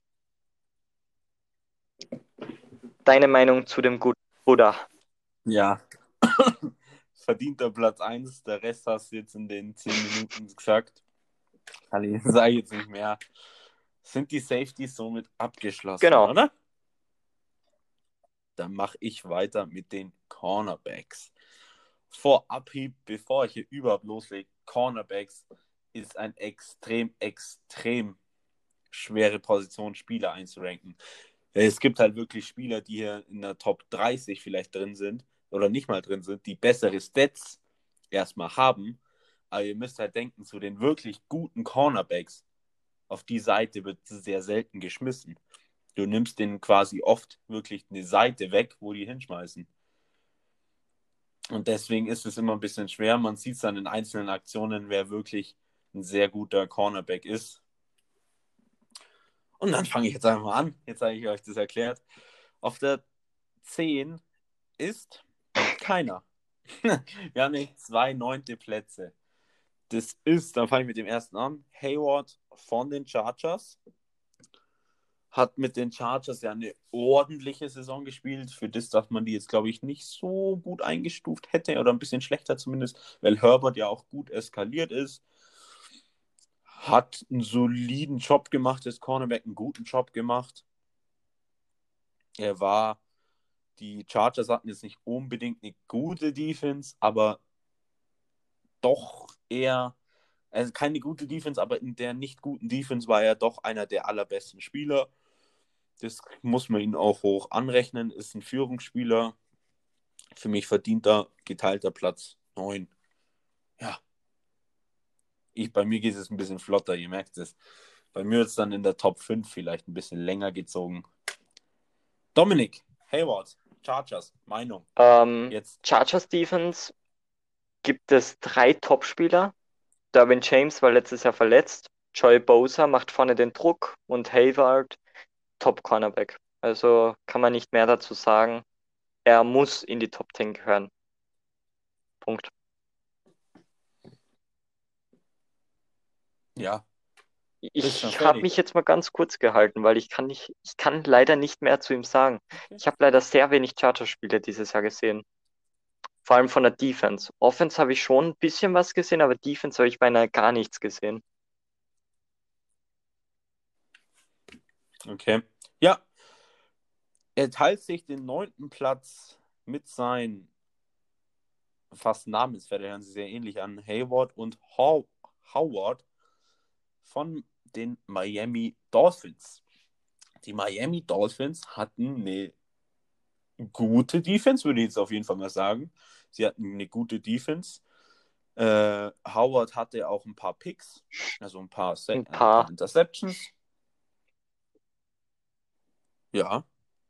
Deine Meinung zu dem guten Buddha? Ja. Verdienter Platz 1. Der Rest hast du jetzt in den 10 Minuten gesagt. Ich sage jetzt nicht mehr. Sind die Safeties somit abgeschlossen, Genau. oder? Dann mache ich weiter mit den Cornerbacks. Vorab, bevor ich hier überhaupt loslege, Cornerbacks ist ein extrem schwere Position, Spieler einzuranken. Es gibt halt wirklich Spieler, die hier in der Top 30 vielleicht drin sind oder nicht mal drin sind, die bessere Stats erstmal haben. Aber ihr müsst halt denken, zu den wirklich guten Cornerbacks, auf die Seite wird sehr selten geschmissen. Du nimmst denen quasi oft wirklich eine Seite weg, wo die hinschmeißen. Und deswegen ist es immer ein bisschen schwer. Man sieht es dann in einzelnen Aktionen, wer wirklich ein sehr guter Cornerback ist. Und dann fange ich jetzt einfach mal an. Jetzt habe ich euch das erklärt. Auf der 10 ist keiner. Wir haben nicht 2 9. Plätze. Das ist, dann fange ich mit dem ersten an, Hayward von den Chargers. Hat mit den Chargers ja eine ordentliche Saison gespielt. Für das, dass man die jetzt, glaube ich, nicht so gut eingestuft hätte oder ein bisschen schlechter zumindest, weil Herbert ja auch gut eskaliert ist. Hat einen soliden Job gemacht, das Cornerback einen guten Job gemacht. Er war Die Chargers hatten jetzt nicht unbedingt eine gute Defense, aber doch eher, also keine gute Defense, aber in der nicht guten Defense war er doch einer der allerbesten Spieler. Das muss man ihm auch hoch anrechnen, ist ein Führungsspieler. Für mich verdienter geteilter Platz 9. Ja, bei mir geht es ein bisschen flotter, ihr merkt es. Bei mir wird es dann in der Top 5 vielleicht ein bisschen länger gezogen. Dominik Hayward, Chargers, Meinung. Jetzt. Chargers Defense gibt es 3 Topspieler. Derwin James war letztes Jahr verletzt. Joey Bosa macht vorne den Druck und Hayward Top Cornerback. Also kann man nicht mehr dazu sagen. Er muss in die Top 10 gehören. Punkt. Ja, bist schon Ich habe fertig. mich jetzt mal ganz kurz gehalten, weil ich kann leider nicht mehr zu ihm sagen. Okay. Ich habe leider sehr wenig Chargers-Spiele dieses Jahr gesehen. Vor allem von der Defense. Offense habe ich schon ein bisschen was gesehen, aber Defense habe ich beinahe gar nichts gesehen. Okay. Ja, er teilt sich den 9. Platz mit seinen fast Namensvetter, hören sie sehr ähnlich an, Hayward und Howard von den Miami Dolphins. Die Miami Dolphins hatten eine gute Defense, würde ich jetzt auf jeden Fall mal sagen. Sie hatten eine gute Defense. Howard hatte auch ein paar Picks, also ein paar Ein Interceptions. Ja,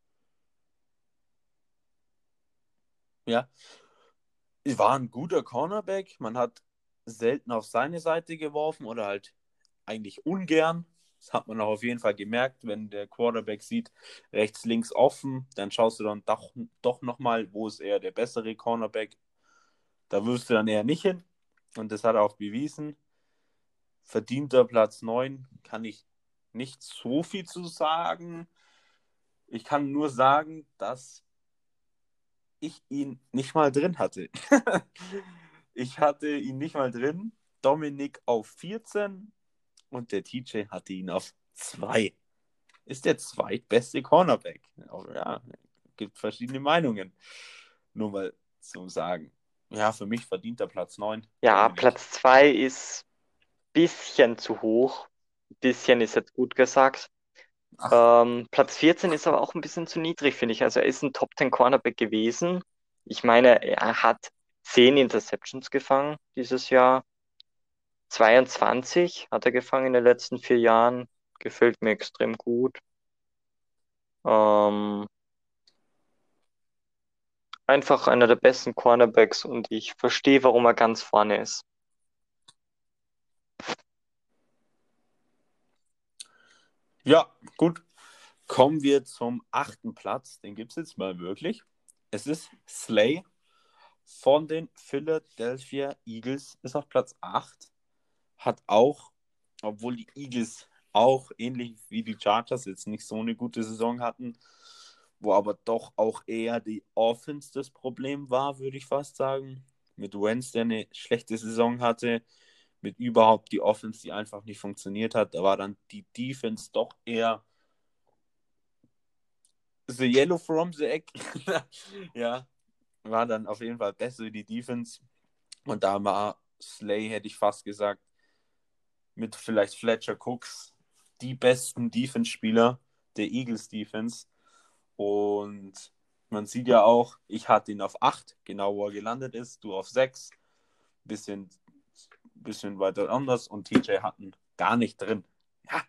ja. War ein guter Cornerback. Man hat selten auf seine Seite geworfen oder halt eigentlich ungern. Das hat man auch auf jeden Fall gemerkt, wenn der Quarterback sieht, rechts, links offen, dann schaust du dann doch nochmal, wo ist er der bessere Cornerback. Da wirst du dann eher nicht hin. Und das hat er auch bewiesen. Verdienter Platz 9 kann ich nicht so viel zu sagen. Ich kann nur sagen, dass ich ihn nicht mal drin hatte. Ich hatte ihn nicht mal drin. Dominik auf 14 und der TJ hatte ihn auf 2. Ist der zweitbeste Cornerback. Ja, gibt verschiedene Meinungen. Nur mal zum Sagen. Ja, für mich verdient der Platz 9. Ja, Dominik. Platz 2 ist ein bisschen zu hoch. Ein bisschen ist jetzt gut gesagt. Ach, Platz 14 ist aber auch ein bisschen zu niedrig, finde ich. Also er ist ein Top 10 Cornerback gewesen. Ich meine, er hat 10 Interceptions gefangen dieses Jahr. 22 hat er gefangen in den letzten 4 Jahren. Gefällt mir extrem gut. Ähm, Einfach einer der besten Cornerbacks und ich verstehe, warum er ganz vorne ist. ja, gut. Kommen wir zum 8. Platz. Den gibt es jetzt mal wirklich. Es ist Slay von den Philadelphia Eagles. Ist auf Platz 8. Hat auch, obwohl die Eagles auch ähnlich wie die Chargers jetzt nicht so eine gute Saison hatten, wo aber doch auch eher die Offense das Problem war, würde ich fast sagen. Mit Wentz, der eine schlechte Saison hatte, mit überhaupt die Offense, die einfach nicht funktioniert hat. Da war dann die Defense doch eher the yellow from the egg. Ja, war dann auf jeden Fall besser wie die Defense. Und da war Slay, hätte ich fast gesagt, mit vielleicht Fletcher Cooks die besten Defense-Spieler der Eagles Defense. Und man sieht ja auch, ich hatte ihn auf 8, genau wo er gelandet ist, du auf 6, bisschen weiter anders und TJ hatten gar nicht drin. Ja,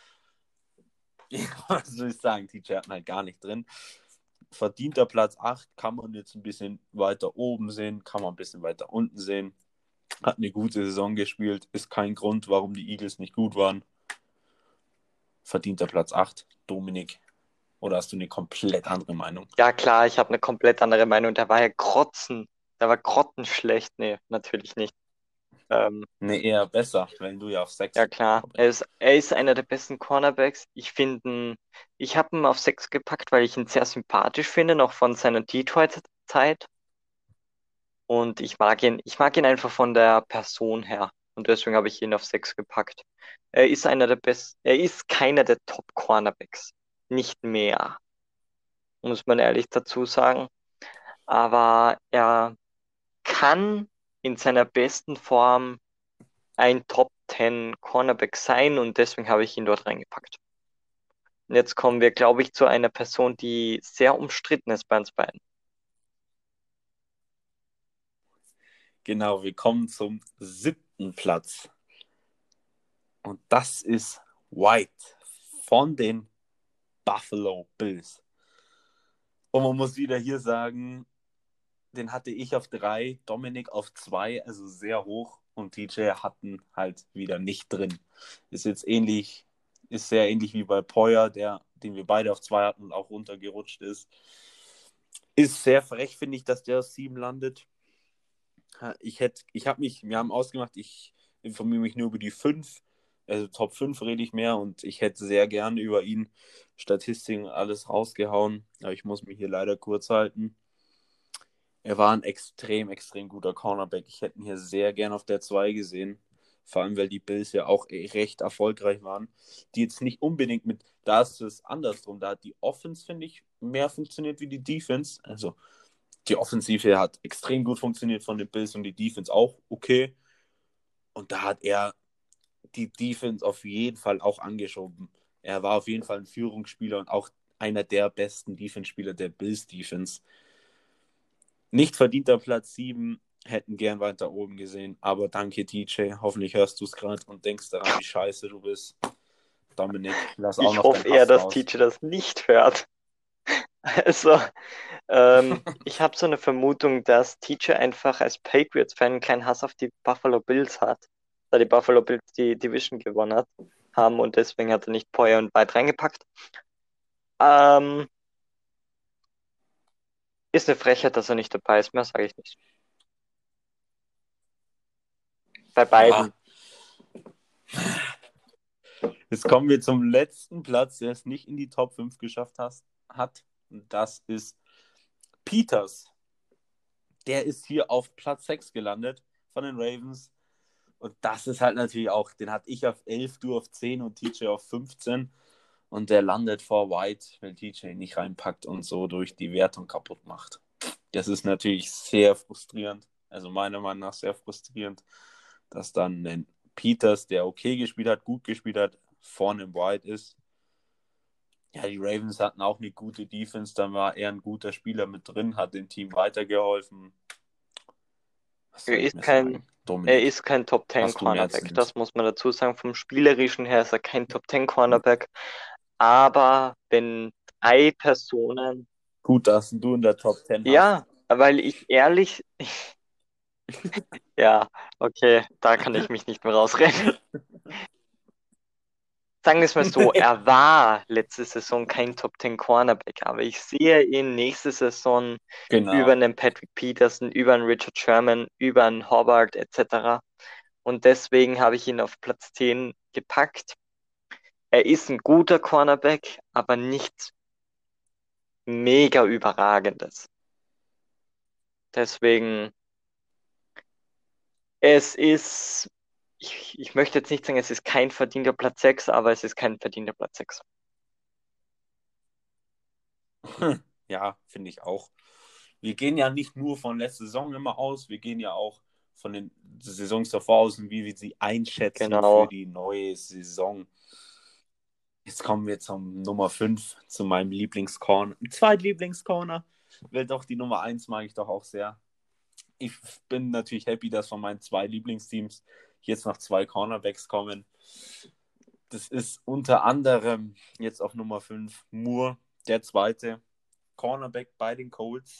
was soll ich sagen, TJ hatten halt gar nicht drin. Verdienter Platz 8 kann man jetzt ein bisschen weiter oben sehen, kann man ein bisschen weiter unten sehen. Hat eine gute Saison gespielt, ist kein Grund, warum die Eagles nicht gut waren. Verdienter Platz 8, Dominik. Oder hast du eine komplett andere Meinung? Ja, klar, ich habe eine komplett andere Meinung. Der war ja grotzen. Der war grottenschlecht. Nee, natürlich nicht. Ähm, Nee, eher besser, wenn du ja auf 6 ja, klar. Er ist einer der besten Cornerbacks. Ich habe ihn auf 6 gepackt, weil ich ihn sehr sympathisch finde, noch von seiner Detroit-Zeit. Und ich mag ihn einfach von der Person her. Und deswegen habe ich ihn auf 6 gepackt. Er ist keiner der Top-Cornerbacks. Nicht mehr. muss man ehrlich dazu sagen. Aber er kann in seiner besten Form ein Top 10 Cornerback sein und deswegen habe ich ihn dort reingepackt. Und jetzt kommen wir, glaube ich, zu einer Person, die sehr umstritten ist bei uns beiden. Genau, wir kommen zum 7. Platz. Und das ist White von den Buffalo Bills. Und man muss wieder hier sagen, den hatte ich auf 3, Dominik auf 2, also sehr hoch. Und TJ hatten halt wieder nicht drin. Ist jetzt ähnlich, ist sehr ähnlich wie bei Poyer, den wir beide auf 2 hatten und auch runtergerutscht ist. Ist sehr frech, finde ich, dass der auf 7 landet. Wir haben ausgemacht, ich informiere mich nur über die 5, also Top 5 rede ich mehr und ich hätte sehr gerne über ihn Statistiken alles rausgehauen, aber ich muss mich hier leider kurz halten. Er war ein extrem, extrem guter Cornerback. Ich hätte ihn hier sehr gern auf der 2 gesehen. Vor allem, weil die Bills ja auch recht erfolgreich waren. Die jetzt nicht unbedingt da ist es andersrum. Da hat die Offense, finde ich, mehr funktioniert wie die Defense. Also die Offensive hat extrem gut funktioniert von den Bills und die Defense auch okay. Und da hat er die Defense auf jeden Fall auch angeschoben. Er war auf jeden Fall ein Führungsspieler und auch einer der besten Defense-Spieler der Bills Defense. Nicht verdienter Platz 7, hätten gern weiter oben gesehen, aber danke TJ, hoffentlich hörst du es gerade und denkst daran, wie scheiße du bist. Dominik, lass auch Ich noch hoffe deinen eher, Hass dass raus. TJ das nicht hört. Also, ich habe so eine Vermutung, dass TJ einfach als Patriots-Fan einen kleinen Hass auf die Buffalo Bills hat, da die Buffalo Bills die Division haben und deswegen hat er nicht Poyer und White reingepackt. Ähm, ist eine Frechheit, dass er nicht dabei ist, mehr sage ich nicht. Bei Ja, beiden. jetzt kommen wir zum letzten Platz, der es nicht in die Top 5 geschafft hat. Und das ist Peters. Der ist hier auf Platz 6 gelandet von den Ravens. Und das ist halt natürlich auch, den hatte ich auf 11, du auf 10 und TJ auf 15. Und der landet vor White, weil TJ ihn nicht reinpackt und so durch die Wertung kaputt macht. Das ist natürlich sehr frustrierend. Also meiner Meinung nach sehr frustrierend, dass dann ein Peters, der okay gespielt hat, gut gespielt hat, vorne im White ist. Ja, die Ravens hatten auch eine gute Defense, dann war er ein guter Spieler mit drin, hat dem Team weitergeholfen. Was Er soll ich ist mir kein, sagen? er Dominik, ist kein Top 10 hast du mehr zu Cornerback. dem? Das muss man dazu sagen. Vom Spielerischen her ist er kein Top 10 Cornerback. Aber wenn drei Personen, Gut, dass du in der Top 10 hast. ja, weil ich ehrlich, ja, okay, da kann ich mich nicht mehr rausreden. Sagen wir es mal so, er war letzte Saison kein Top 10 Cornerback, aber ich sehe ihn nächste Saison über Genau. einen Patrick Peterson, über einen Richard Sherman, über einen Hobart etc. Und deswegen habe ich ihn auf Platz 10 gepackt. Er ist ein guter Cornerback, aber nichts mega überragendes. Deswegen, es ist, ich möchte jetzt nicht sagen, es ist kein verdienter Platz 6, aber es ist kein verdienter Platz 6. Ja, finde ich auch. Wir gehen ja nicht nur von letzter Saison immer aus, wir gehen ja auch von den Saisons davor aus und wie wir sie einschätzen für Genau. die neue Saison. Jetzt kommen wir zum Nummer 5, zu meinem Lieblingscorner. Zweitlieblingscorner, weil doch die Nummer 1 mag ich doch auch sehr. Ich bin natürlich happy, dass von meinen 2 Lieblingsteams jetzt noch 2 Cornerbacks kommen. Das ist unter anderem jetzt auf Nummer 5 Moore, der zweite Cornerback bei den Colts.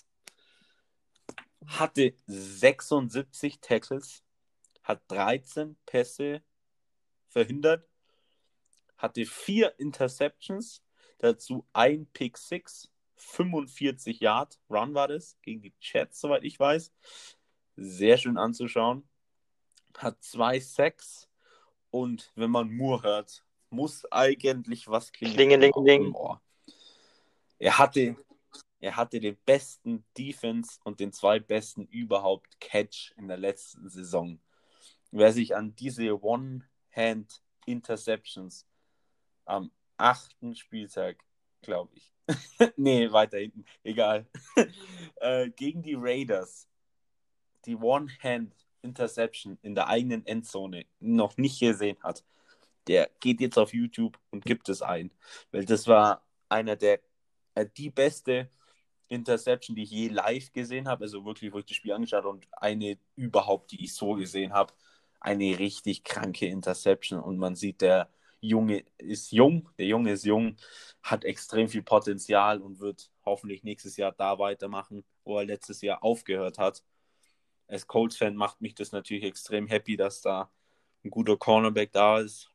Hatte 76 Tackles, hat 13 Pässe verhindert, hatte 4 Interceptions, dazu ein Pick 6, 45 Yard Run war das, gegen die Jets, soweit ich weiß. Sehr schön anzuschauen. Hat 2 Sacks und wenn man Moore hört, muss eigentlich was klingeln im Klingelingeling. Ohr. Er hatte, er hatte den besten Defense und den zweitbesten überhaupt Catch in der letzten Saison. Wer sich an diese One-Hand-Interceptions am 8. Spieltag, glaube ich, Nee, weiter hinten. Egal. Gegen die Raiders. Die One-Hand-Interception in der eigenen Endzone noch nicht gesehen hat, der geht jetzt auf YouTube und gibt es ein. Weil das war einer der, die beste Interception, die ich je live gesehen habe. Also wirklich, wo ich das Spiel angeschaut habe und eine überhaupt, die ich so gesehen habe. Eine richtig kranke Interception. Und man sieht, der Junge ist jung, hat extrem viel Potenzial und wird hoffentlich nächstes Jahr da weitermachen, wo er letztes Jahr aufgehört hat. Als Colts-Fan macht mich das natürlich extrem happy, dass da ein guter Cornerback da ist.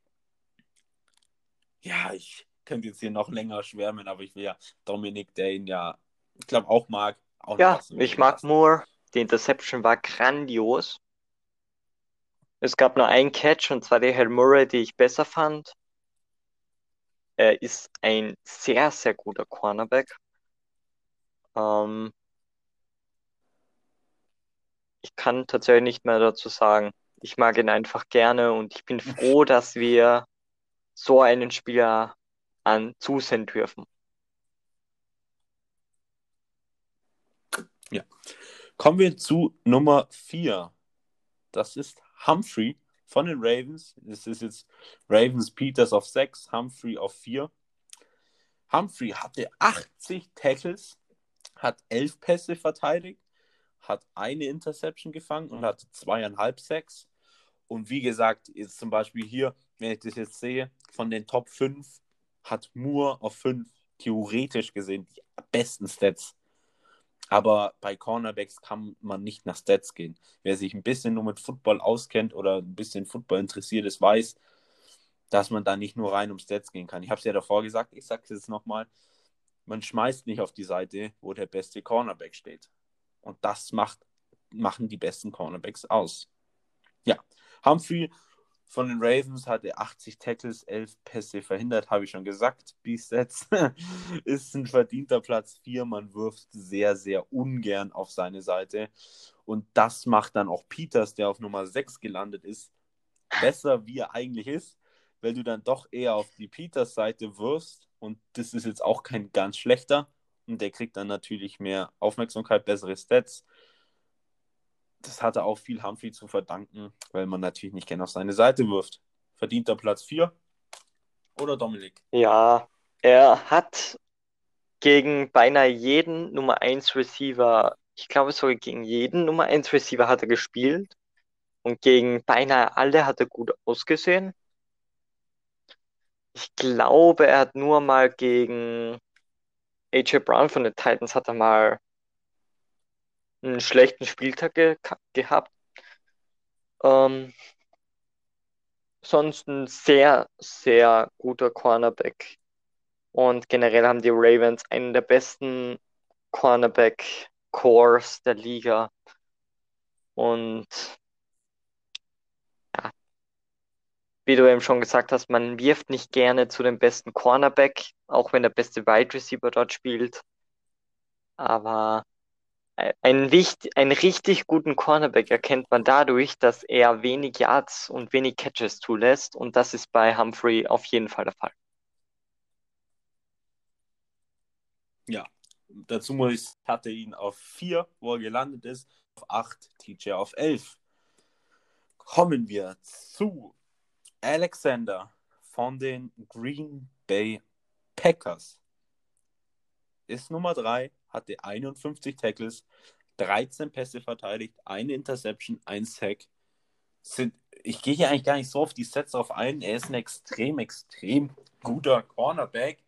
Ja, ich könnte jetzt hier noch länger schwärmen, aber ich will ja Dominic, der ihn ja, ich glaube, auch mag, auch nicht Ja, aus dem ich Reden mag lassen. Moore. Die Interception war grandios. Es gab nur einen Catch und zwar die Hail Murray, die ich besser fand. Er ist ein sehr, sehr guter Cornerback. Ähm, Ich kann tatsächlich nicht mehr dazu sagen. Ich mag ihn einfach gerne und ich bin froh, dass wir so einen Spieler zusehen dürfen. Ja. Kommen wir zu Nummer 4. Das ist Humphrey von den Ravens. Das ist jetzt Ravens Peters auf 6, Humphrey auf 4. Humphrey hatte 80 Tackles, hat 11 Pässe verteidigt, hat eine Interception gefangen und hatte 2,5 Sacks. Und wie gesagt, jetzt zum Beispiel hier, wenn ich das jetzt sehe, von den Top 5 hat Moore auf 5 theoretisch gesehen die besten Stats. Aber bei Cornerbacks kann man nicht nach Stats gehen. Wer sich ein bisschen nur mit Football auskennt oder ein bisschen Football interessiert ist, weiß, dass man da nicht nur rein um Stats gehen kann. Ich habe es ja davor gesagt, ich sage es jetzt nochmal, man schmeißt nicht auf die Seite, wo der beste Cornerback steht. Und das machen die besten Cornerbacks aus. Ja, Humphrey von den Ravens hatte 80 Tackles, 11 Pässe verhindert, habe ich schon gesagt. B-Stats ist ein verdienter Platz 4. Man wirft sehr, sehr ungern auf seine Seite. Und das macht dann auch Peters, der auf Nummer 6 gelandet ist, besser, wie er eigentlich ist, weil du dann doch eher auf die Peters-Seite wirfst. Und das ist jetzt auch kein ganz schlechter. Und der kriegt dann natürlich mehr Aufmerksamkeit, bessere Stats. Das hatte auch viel Humphrey zu verdanken, weil man natürlich nicht gerne auf seine Seite wirft. Verdient er Platz 4 oder Dominik? Ja, er hat gegen beinahe jeden Nummer eins Receiver, ich glaube sogar gegen jeden Nummer eins Receiver hat er gespielt und gegen beinahe alle hat er gut ausgesehen. Ich glaube, er hat nur mal gegen AJ Brown von den Titans hat er mal einen schlechten Spieltag gehabt. Ähm, Sonst ein sehr, sehr guter Cornerback. Und generell haben die Ravens einen der besten Cornerback-Cores der Liga. Und ja, wie du eben schon gesagt hast, man wirft nicht gerne zu dem besten Cornerback, auch wenn der beste Wide Receiver dort spielt. Aber einen richtig guten Cornerback erkennt man dadurch, dass er wenig Yards und wenig Catches zulässt. Und das ist bei Humphrey auf jeden Fall der Fall. Ja, dazu muss ich, hatte ihn auf 4, wo er gelandet ist, auf 8, TJ auf 11. Kommen wir zu Alexander von den Green Bay Packers. Ist Nummer 3, hatte 51 Tackles, 13 Pässe verteidigt, eine Interception, ein Sack. Ich gehe hier eigentlich gar nicht so auf die Sets auf ein. Er ist ein extrem, extrem guter Cornerback.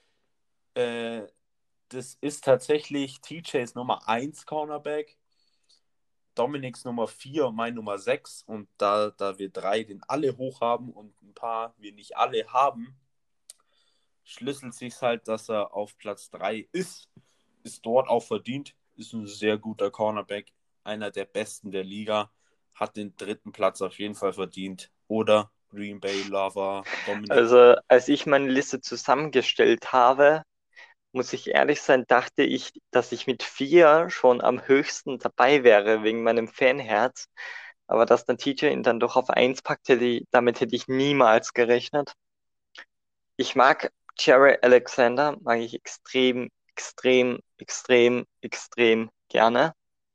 Das ist tatsächlich TJs Nummer 1 Cornerback, Dominiks Nummer 4 und mein Nummer 6. Und da wir 3 den alle hoch haben und ein paar wir nicht alle haben, schlüsselt sich halt, dass er auf Platz 3 ist. Ist dort auch verdient. Ist ein sehr guter Cornerback. Einer der besten der Liga. Hat den 3. Platz auf jeden Fall verdient. Oder Green Bay Lover, Dominik. Also, als ich meine Liste zusammengestellt habe, muss ich ehrlich sein, dachte ich, dass ich mit 4 schon am höchsten dabei wäre, wegen meinem Fanherz. Aber dass der TJ ihn dann doch auf 1 packt, damit hätte ich niemals gerechnet. Ich mag Jerry Alexander mag ich extrem, extrem, extrem, extrem gerne.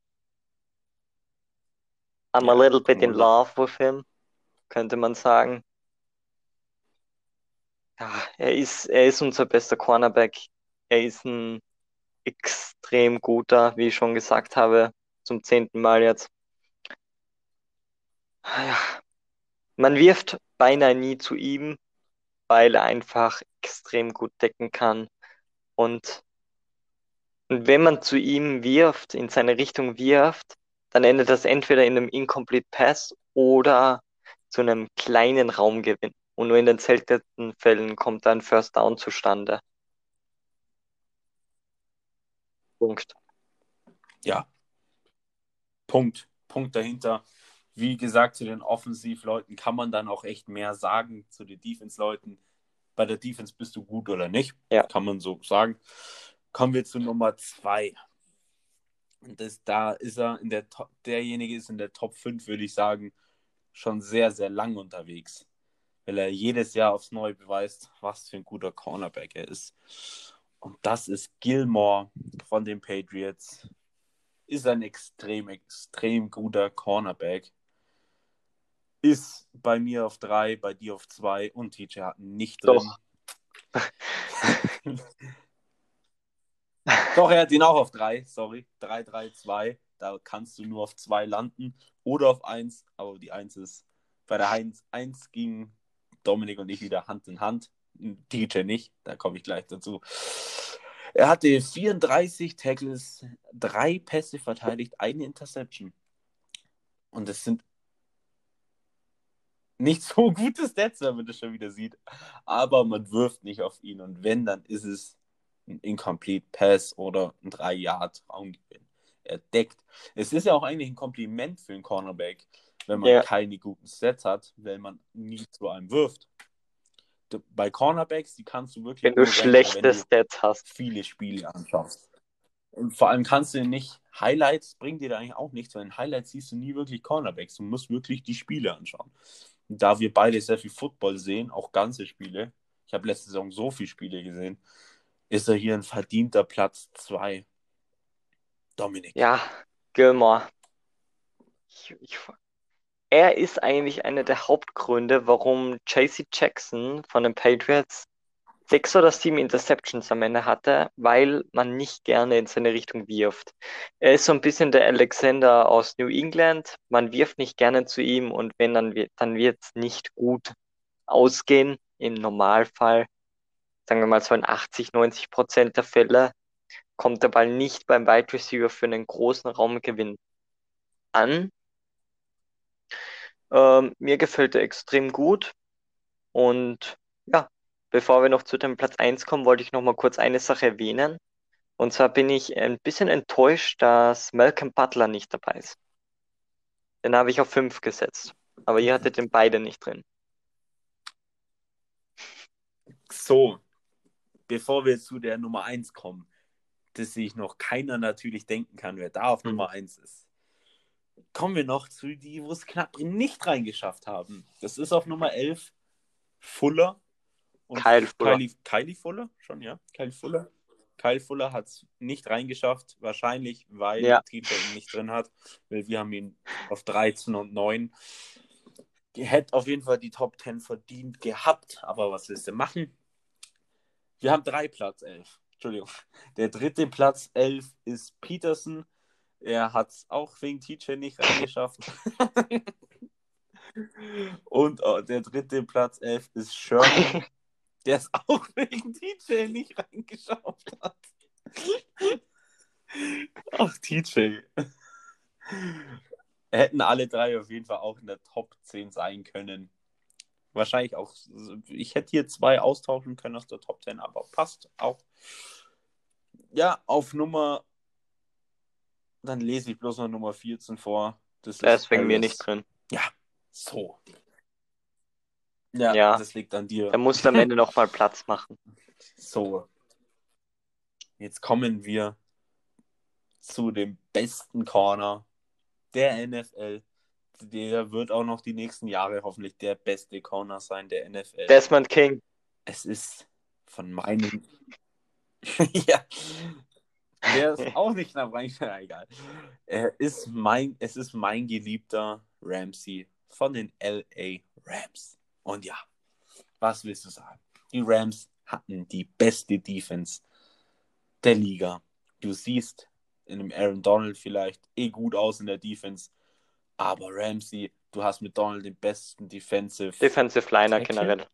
I'm a Ja, little bit in Knuller. love with him, könnte man sagen. Ja, er ist unser bester Cornerback. Er ist ein extrem guter, wie ich schon gesagt habe, zum 10. Mal jetzt. Ja, man wirft beinahe nie zu ihm, weil er einfach extrem gut decken kann. Und, und wenn man zu ihm wirft, in seine Richtung wirft, dann endet das entweder in einem Incomplete Pass oder zu einem kleinen Raumgewinn. Und nur in den seltensten Fällen kommt ein First Down zustande. Punkt. Ja, Punkt. Punkt dahinter. Wie gesagt, zu den Offensivleuten kann man dann auch echt mehr sagen. Zu den Defense-Leuten. Bei der Defense bist du gut oder nicht. Ja, Kann man so sagen. Kommen wir zu Nummer 2. Und da ist er derjenige ist in der Top 5, würde ich sagen, schon sehr, sehr lang unterwegs. Weil er jedes Jahr aufs Neue beweist, was für ein guter Cornerback er ist. Und das ist Gilmore von den Patriots. Ist ein extrem, extrem guter Cornerback. Ist bei mir auf 3, bei dir auf 2 und TJ hat ihn nicht drin. doch. Doch, er hat ihn auch auf 3, sorry. 3, 3, 2. Da kannst du nur auf 2 landen oder auf 1, aber die 1 ist bei der 1 ging Dominik und ich wieder Hand in Hand. DJ nicht, da komme ich gleich dazu. Er hatte 34 Tackles, 3 Pässe verteidigt, eine Interception. Und das sind nicht so gute Stats, wenn man das schon wieder sieht. Aber man wirft nicht auf ihn. Und wenn, dann ist es ein Incomplete Pass oder ein 3-Yard-Raumgewinn. Er deckt. Es ist ja auch eigentlich ein Kompliment für einen Cornerback, wenn man Ja, keine guten Stats hat, wenn man nie zu einem wirft. Bei Cornerbacks, die kannst du wirklich wenn du nur ranken, wenn schlechte du Stats hast. viele Spiele anschaust. Und vor allem kannst du nicht, Highlights bringen dir da eigentlich auch nichts, weil in Highlights siehst du nie wirklich Cornerbacks. Du musst wirklich die Spiele anschauen. Und da wir beide sehr viel Football sehen, auch ganze Spiele, ich habe letzte Saison so viele Spiele gesehen, ist er hier ein verdienter Platz 2. Dominik. Ja, Gilmore. Ich, ich, er ist eigentlich einer der Hauptgründe, warum JC Jackson von den Patriots 6 oder 7 Interceptions am Ende hatte, weil man nicht gerne in seine Richtung wirft. Er ist so ein bisschen der Alexander aus New England. Man wirft nicht gerne zu ihm und wenn dann wird es nicht gut ausgehen. Im Normalfall, sagen wir mal so in 80-90% der Fälle, kommt der Ball nicht beim Wide Receiver für einen großen Raumgewinn an. Mir gefällt er extrem gut und ja, bevor wir noch zu dem Platz 1 kommen, wollte ich noch mal kurz eine Sache erwähnen. Und zwar bin ich ein bisschen enttäuscht, dass Malcolm Butler nicht dabei ist. Den habe ich auf 5 gesetzt. Aber ihr hattet den beide nicht drin. So, bevor wir zu der Nummer 1 kommen, dass sich noch keiner natürlich denken kann, wer da auf Mhm. Nummer 1 ist. Kommen wir noch zu die, wo es knapp nicht reingeschafft haben. Das ist auf Nummer 11 Fuller und Kyle Fuller. Kylie Fuller, schon, ja? Kyle Fuller. Kyle Fuller hat es nicht reingeschafft, wahrscheinlich, weil Ja, TJ ihn nicht drin hat, weil wir haben ihn auf 13 und 9. Hätte auf jeden Fall die Top 10 verdient gehabt, aber was willst du machen? Wir haben 3 Platz 11. Entschuldigung. Der dritte Platz 11 ist Peterson. Er hat es auch wegen TJ nicht reingeschafft. Und der dritte Platz 11 ist Sherman, der es auch wegen TJ nicht reingeschafft hat. Ach, TJ. Hätten alle 3 auf jeden Fall auch in der Top 10 sein können. Wahrscheinlich auch, ich hätte hier 2 austauschen können aus der Top 10, aber passt auch. Ja, auf Nummer, dann lese ich bloß noch Nummer 14 vor. Das der ist ist wegen mir nicht Harris. drin. Ja, so. Ja, Ja, das liegt an dir. der musste am Ende nochmal Platz machen. So, jetzt kommen wir zu dem besten Corner der NFL. Der wird auch noch die nächsten Jahre hoffentlich der beste Corner sein der NFL. Desmond King. Es ist von meinen. Ja, der ist auch nicht knapp reingegangen, egal. Es ist mein geliebter Ramsey von den LA Rams. Und ja, was willst du sagen? Die Rams hatten die beste Defense der Liga. Du siehst in dem Aaron Donald vielleicht gut aus in der Defense, aber Ramsey, du hast mit Donald den besten Defensive Liner Tackle. generell.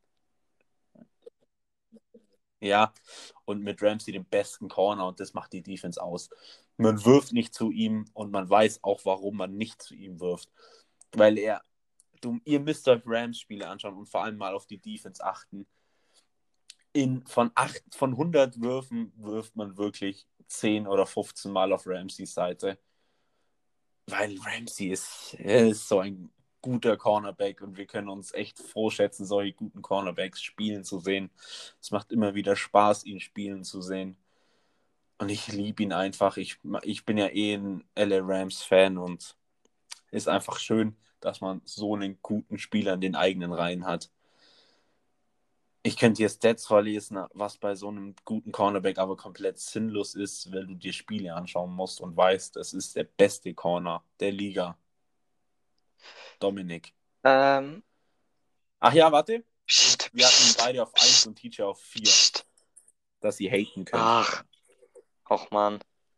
Ja, und mit Ramsey den besten Corner und das macht die Defense aus. Man wirft nicht zu ihm und man weiß auch, warum man nicht zu ihm wirft. Weil ihr müsst euch Rams-Spiele anschauen und vor allem mal auf die Defense achten. Von 100 Würfen wirft man wirklich 10 oder 15 Mal auf Ramseys Seite. Weil Ramsey ist so ein guter Cornerback und wir können uns echt froh schätzen, solche guten Cornerbacks spielen zu sehen. Es macht immer wieder Spaß, ihn spielen zu sehen. Und ich liebe ihn einfach. Ich bin ja ein LA Rams-Fan und ist einfach schön, dass man so einen guten Spieler in den eigenen Reihen hat. Ich könnte dir Stats vorlesen, was bei so einem guten Cornerback aber komplett sinnlos ist, weil du dir Spiele anschauen musst und weißt, es ist der beste Corner der Liga. Dominik. Ähm, Ach ja, warte. pst, Wir hatten pst, beide auf 1 pst, und Teacher auf 4, pst. dass sie haten können. Ach, och Mann.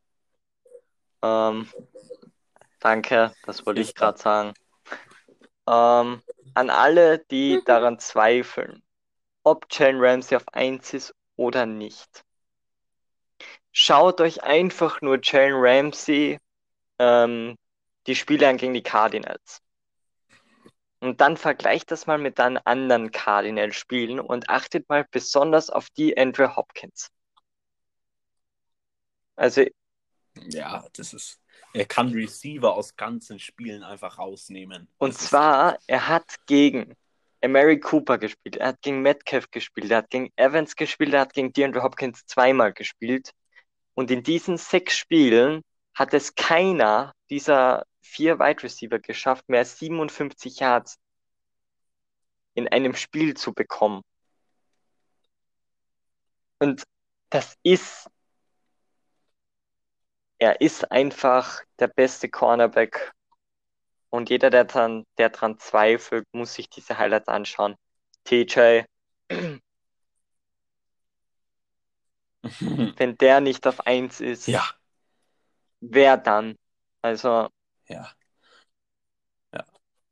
Danke, das wollte ich Ist da. gerade sagen. An alle, die daran zweifeln, ob Jalen Ramsey auf 1 ist oder nicht. Schaut euch einfach nur Jalen Ramsey die Spiele an gegen die Cardinals. Und dann vergleicht das mal mit den anderen Cardinals-Spielen und achtet mal besonders auf die Andrew Hopkins. Also, Ja, er kann Receiver aus ganzen Spielen einfach rausnehmen. und Das ist krank. zwar, er hat gegen Amari Cooper gespielt, er hat gegen Metcalf gespielt, er hat gegen Evans gespielt, er hat gegen DeAndre Hopkins zweimal gespielt. Und in diesen 6 Spielen hat es keiner dieser 4 Wide Receiver geschafft, mehr als 57 Yards in einem Spiel zu bekommen. Und das er ist einfach der beste Cornerback. Und jeder, der dran zweifelt, muss sich diese Highlights anschauen. TJ, wenn der nicht auf 1 ist, Ja, wer dann? Also, ja, ja.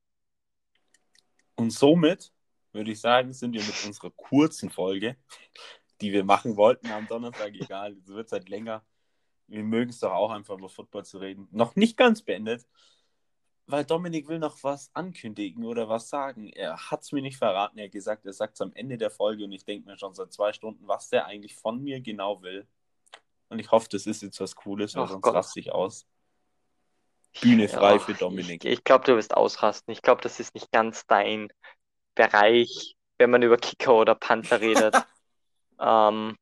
Und somit würde ich sagen, sind wir mit unserer kurzen Folge, die wir machen wollten am Donnerstag, egal, es wird halt länger. Wir mögen es doch auch einfach über Football zu reden. Noch nicht ganz beendet, weil Dominik will noch was ankündigen oder was sagen. Er hat es mir nicht verraten. Er hat gesagt, er sagt es am Ende der Folge und ich denke mir schon seit 2 Stunden, was der eigentlich von mir genau will. Und ich hoffe, das ist jetzt was Cooles, weil ach sonst Gott. raste ich aus. Bühne frei Ja, für Dominik. ich glaube, du wirst ausrasten. Ich glaube, das ist nicht ganz dein Bereich, wenn man über Kicker oder Panther redet. Ähm,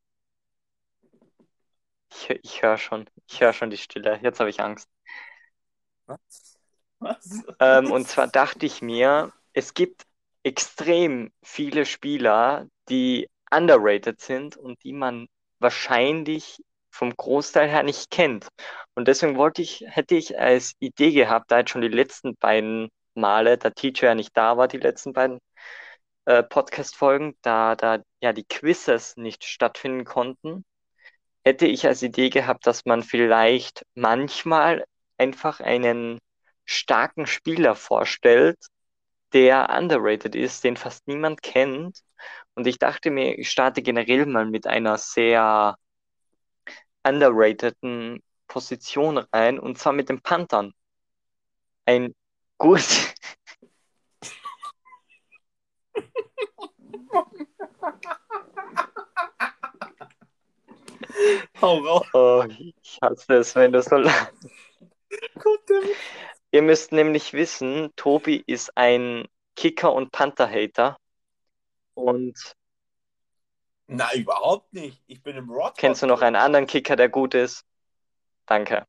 ich höre schon die Stille. Jetzt habe ich Angst. Was? Was? Und zwar dachte ich mir, es gibt extrem viele Spieler, die underrated sind und die man wahrscheinlich vom Großteil her nicht kennt. Und deswegen hätte ich als Idee gehabt, da jetzt schon die letzten beiden Male, da Teacher ja nicht da war, die letzten beiden Podcast-Folgen, da ja die Quizzes nicht stattfinden konnten, hätte ich als Idee gehabt, dass man vielleicht manchmal einfach einen starken Spieler vorstellt, der underrated ist, den fast niemand kennt. Und ich dachte mir, ich starte generell mal mit einer sehr underrateden Position rein, und zwar mit den Panthern. Ein gut, Hau raus. oh, ich hasse es, wenn du so lachst. Ihr müsst nämlich wissen, Tobi ist ein Kicker- und Panther-Hater. Und Nein, überhaupt nicht. Ich bin im kennst du noch einen Rothorn-Club. anderen Kicker, der gut ist? Danke.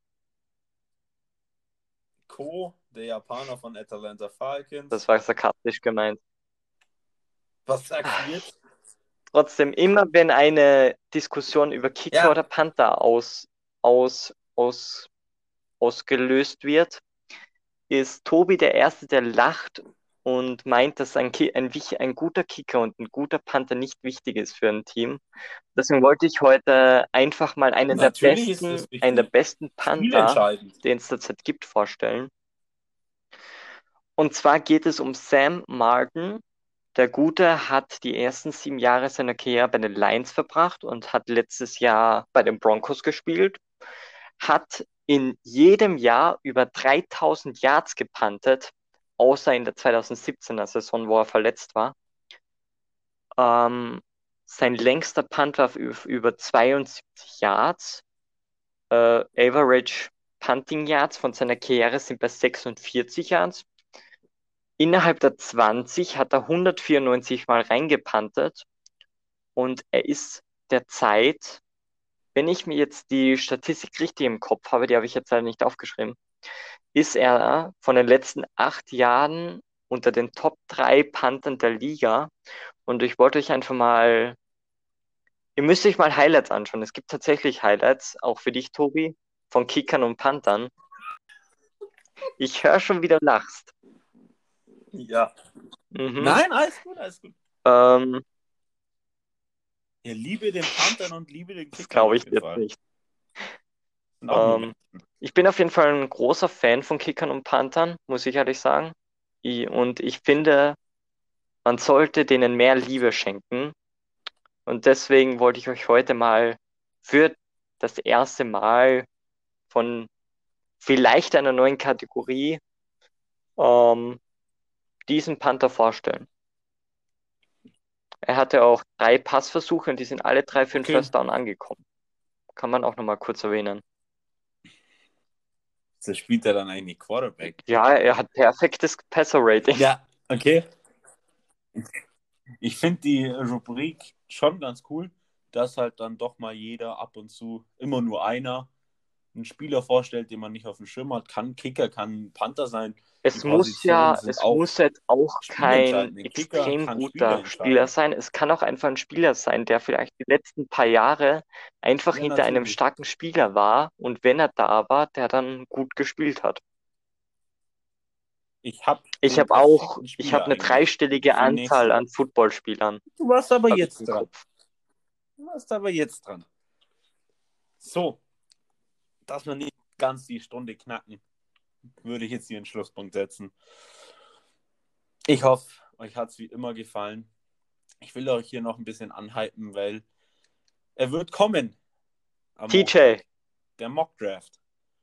Der Japaner von Atlanta Falcons. Das war sarkastisch gemeint. Was sagst du jetzt? Trotzdem, immer wenn eine Diskussion über Kicker Ja, oder Panther aus, aus, ausgelöst wird, ist Tobi der Erste, der lacht und meint, dass ein guter Kicker und ein guter Panther nicht wichtig ist für ein Team. Deswegen wollte ich heute einfach mal natürlich ist es einen der wichtig. besten Panther, Spielentscheidend. den es derzeit gibt, vorstellen. Und zwar geht es um Sam Martin. Der Gute hat die ersten 7 Jahre seiner Karriere bei den Lions verbracht und hat letztes Jahr bei den Broncos gespielt, hat in jedem Jahr über 3000 Yards gepuntet, außer in der 2017er Saison, wo er verletzt war. Sein längster Punt war über 72 Yards. Average Punting Yards von seiner Karriere sind bei 46 Yards. Innerhalb der 20 hat er 194 Mal reingepuntet und er ist derzeit, wenn ich mir jetzt die Statistik richtig im Kopf habe, die habe ich jetzt leider nicht aufgeschrieben, ist er von den letzten 8 Jahren unter den Top 3 Panthern der Liga. Und ich wollte euch einfach mal, ihr müsst euch mal Highlights anschauen. Es gibt tatsächlich Highlights, auch für dich, Tobi, von Kickern und Panthern. Ich höre schon, wie du lachst. Ja. Mhm. Nein, alles gut, alles gut. Ähm, Ja, liebe den Panthern und liebe den Das Kickern glaube auf ich jeden jetzt Fall. nicht. Sind auch nur Ähm, Menschen. Ich bin auf jeden Fall ein großer Fan von Kickern und Panthern, muss ich ehrlich sagen. Und ich finde, man sollte denen mehr Liebe schenken. Und deswegen wollte ich euch heute mal für das erste Mal von vielleicht einer neuen Kategorie ähm, diesen Panther vorstellen. Er hatte auch 3 Passversuche und die sind alle 3 für den Okay. First Down angekommen. Kann man auch nochmal kurz erwähnen. Das spielt er dann eigentlich Quarterback. Ja, er hat perfektes Passer-Rating. Ja, okay. Ich finde die Rubrik schon ganz cool, dass halt dann doch mal jeder ab und zu, immer nur einer, einen Spieler vorstellt, den man nicht auf dem Schirm hat. Kann Kicker, kann Panther sein. Die Positionen sind Es auch muss jetzt auch kein spielentscheidend. Ein Kicker extrem kann Spiele guter Spieler entscheiden. sein. Es kann auch einfach ein Spieler sein, der vielleicht die letzten paar Jahre einfach Ja, hinter einem natürlich. starken Spieler war und wenn er da war, der dann gut gespielt hat. Ich habe den perfekten Ich habe Spieler eine eigentlich dreistellige für den Anzahl nächsten. an Footballspielern, Du warst aber habe ich jetzt im dran. Kopf. Du warst aber jetzt dran. So, dass wir nicht ganz die Stunde knacken, würde ich jetzt hier einen Schlusspunkt setzen. Ich hoffe, euch hat es wie immer gefallen. Ich will euch hier noch ein bisschen anhypen, weil er wird kommen am TJ, Montag. Der Mock-Draft.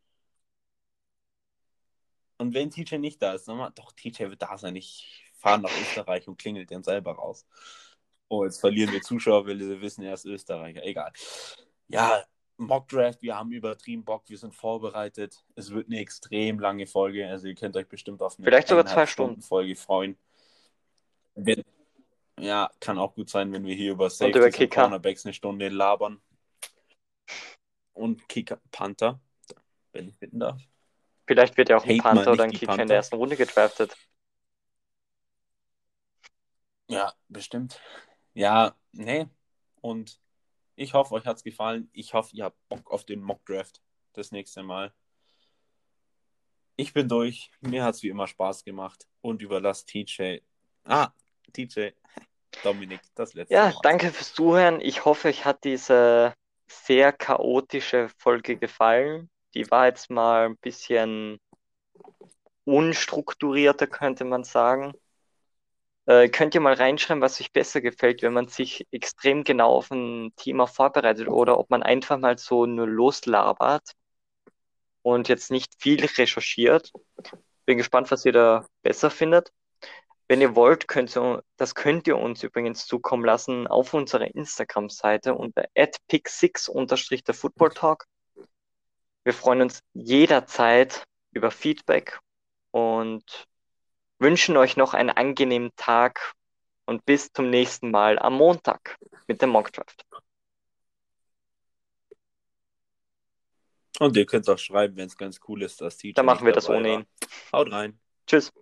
Und wenn TJ nicht da ist, doch, TJ wird da sein. Ich fahre nach Österreich und klingelt den selber raus. Oh, jetzt verlieren wir Zuschauer, weil sie wissen, er ist Österreicher. Egal. Ja, Mock-Draft, wir haben übertrieben Bock, wir sind vorbereitet. Es wird eine extrem lange Folge, also ihr könnt euch bestimmt auf eine vielleicht sogar 2 Stunden 1,5-Stunden-Folge freuen. Wenn, ja, kann auch gut sein, wenn wir hier über und über Safeties und Kicker. Cornerbacks eine Stunde labern. Und Kicker, Panther, wenn ich bitten darf. Vielleicht wird ja auch ein Hate mal Panther oder nicht ein die Kicker in der Panther. ersten Runde gedraftet. Ja, bestimmt. Ja, nee. Und ich hoffe, euch hat es gefallen. Ich hoffe, ihr habt Bock auf den Mock-Draft das nächste Mal. Ich bin durch. Mir hat es wie immer Spaß gemacht. Und überlasst TJ. TJ. Dominik, das letzte Ja, Wort. danke fürs Zuhören. Ich hoffe, euch hat diese sehr chaotische Folge gefallen. Die war jetzt mal ein bisschen unstrukturierter, könnte man sagen. Könnt ihr mal reinschreiben, was euch besser gefällt, wenn man sich extrem genau auf ein Thema vorbereitet oder ob man einfach mal so nur loslabert und jetzt nicht viel recherchiert. Bin gespannt, was ihr da besser findet. Wenn ihr wollt, das könnt ihr uns übrigens zukommen lassen auf unserer Instagram-Seite unter @pick6_ der Football Talk. Wir freuen uns jederzeit über Feedback und wünschen euch noch einen angenehmen Tag und bis zum nächsten Mal am Montag mit dem Mockdraft. Und ihr könnt auch schreiben, wenn es ganz cool ist, dass Dann TJ machen nicht wir das dabei ohne war. ihn. Haut rein. Tschüss.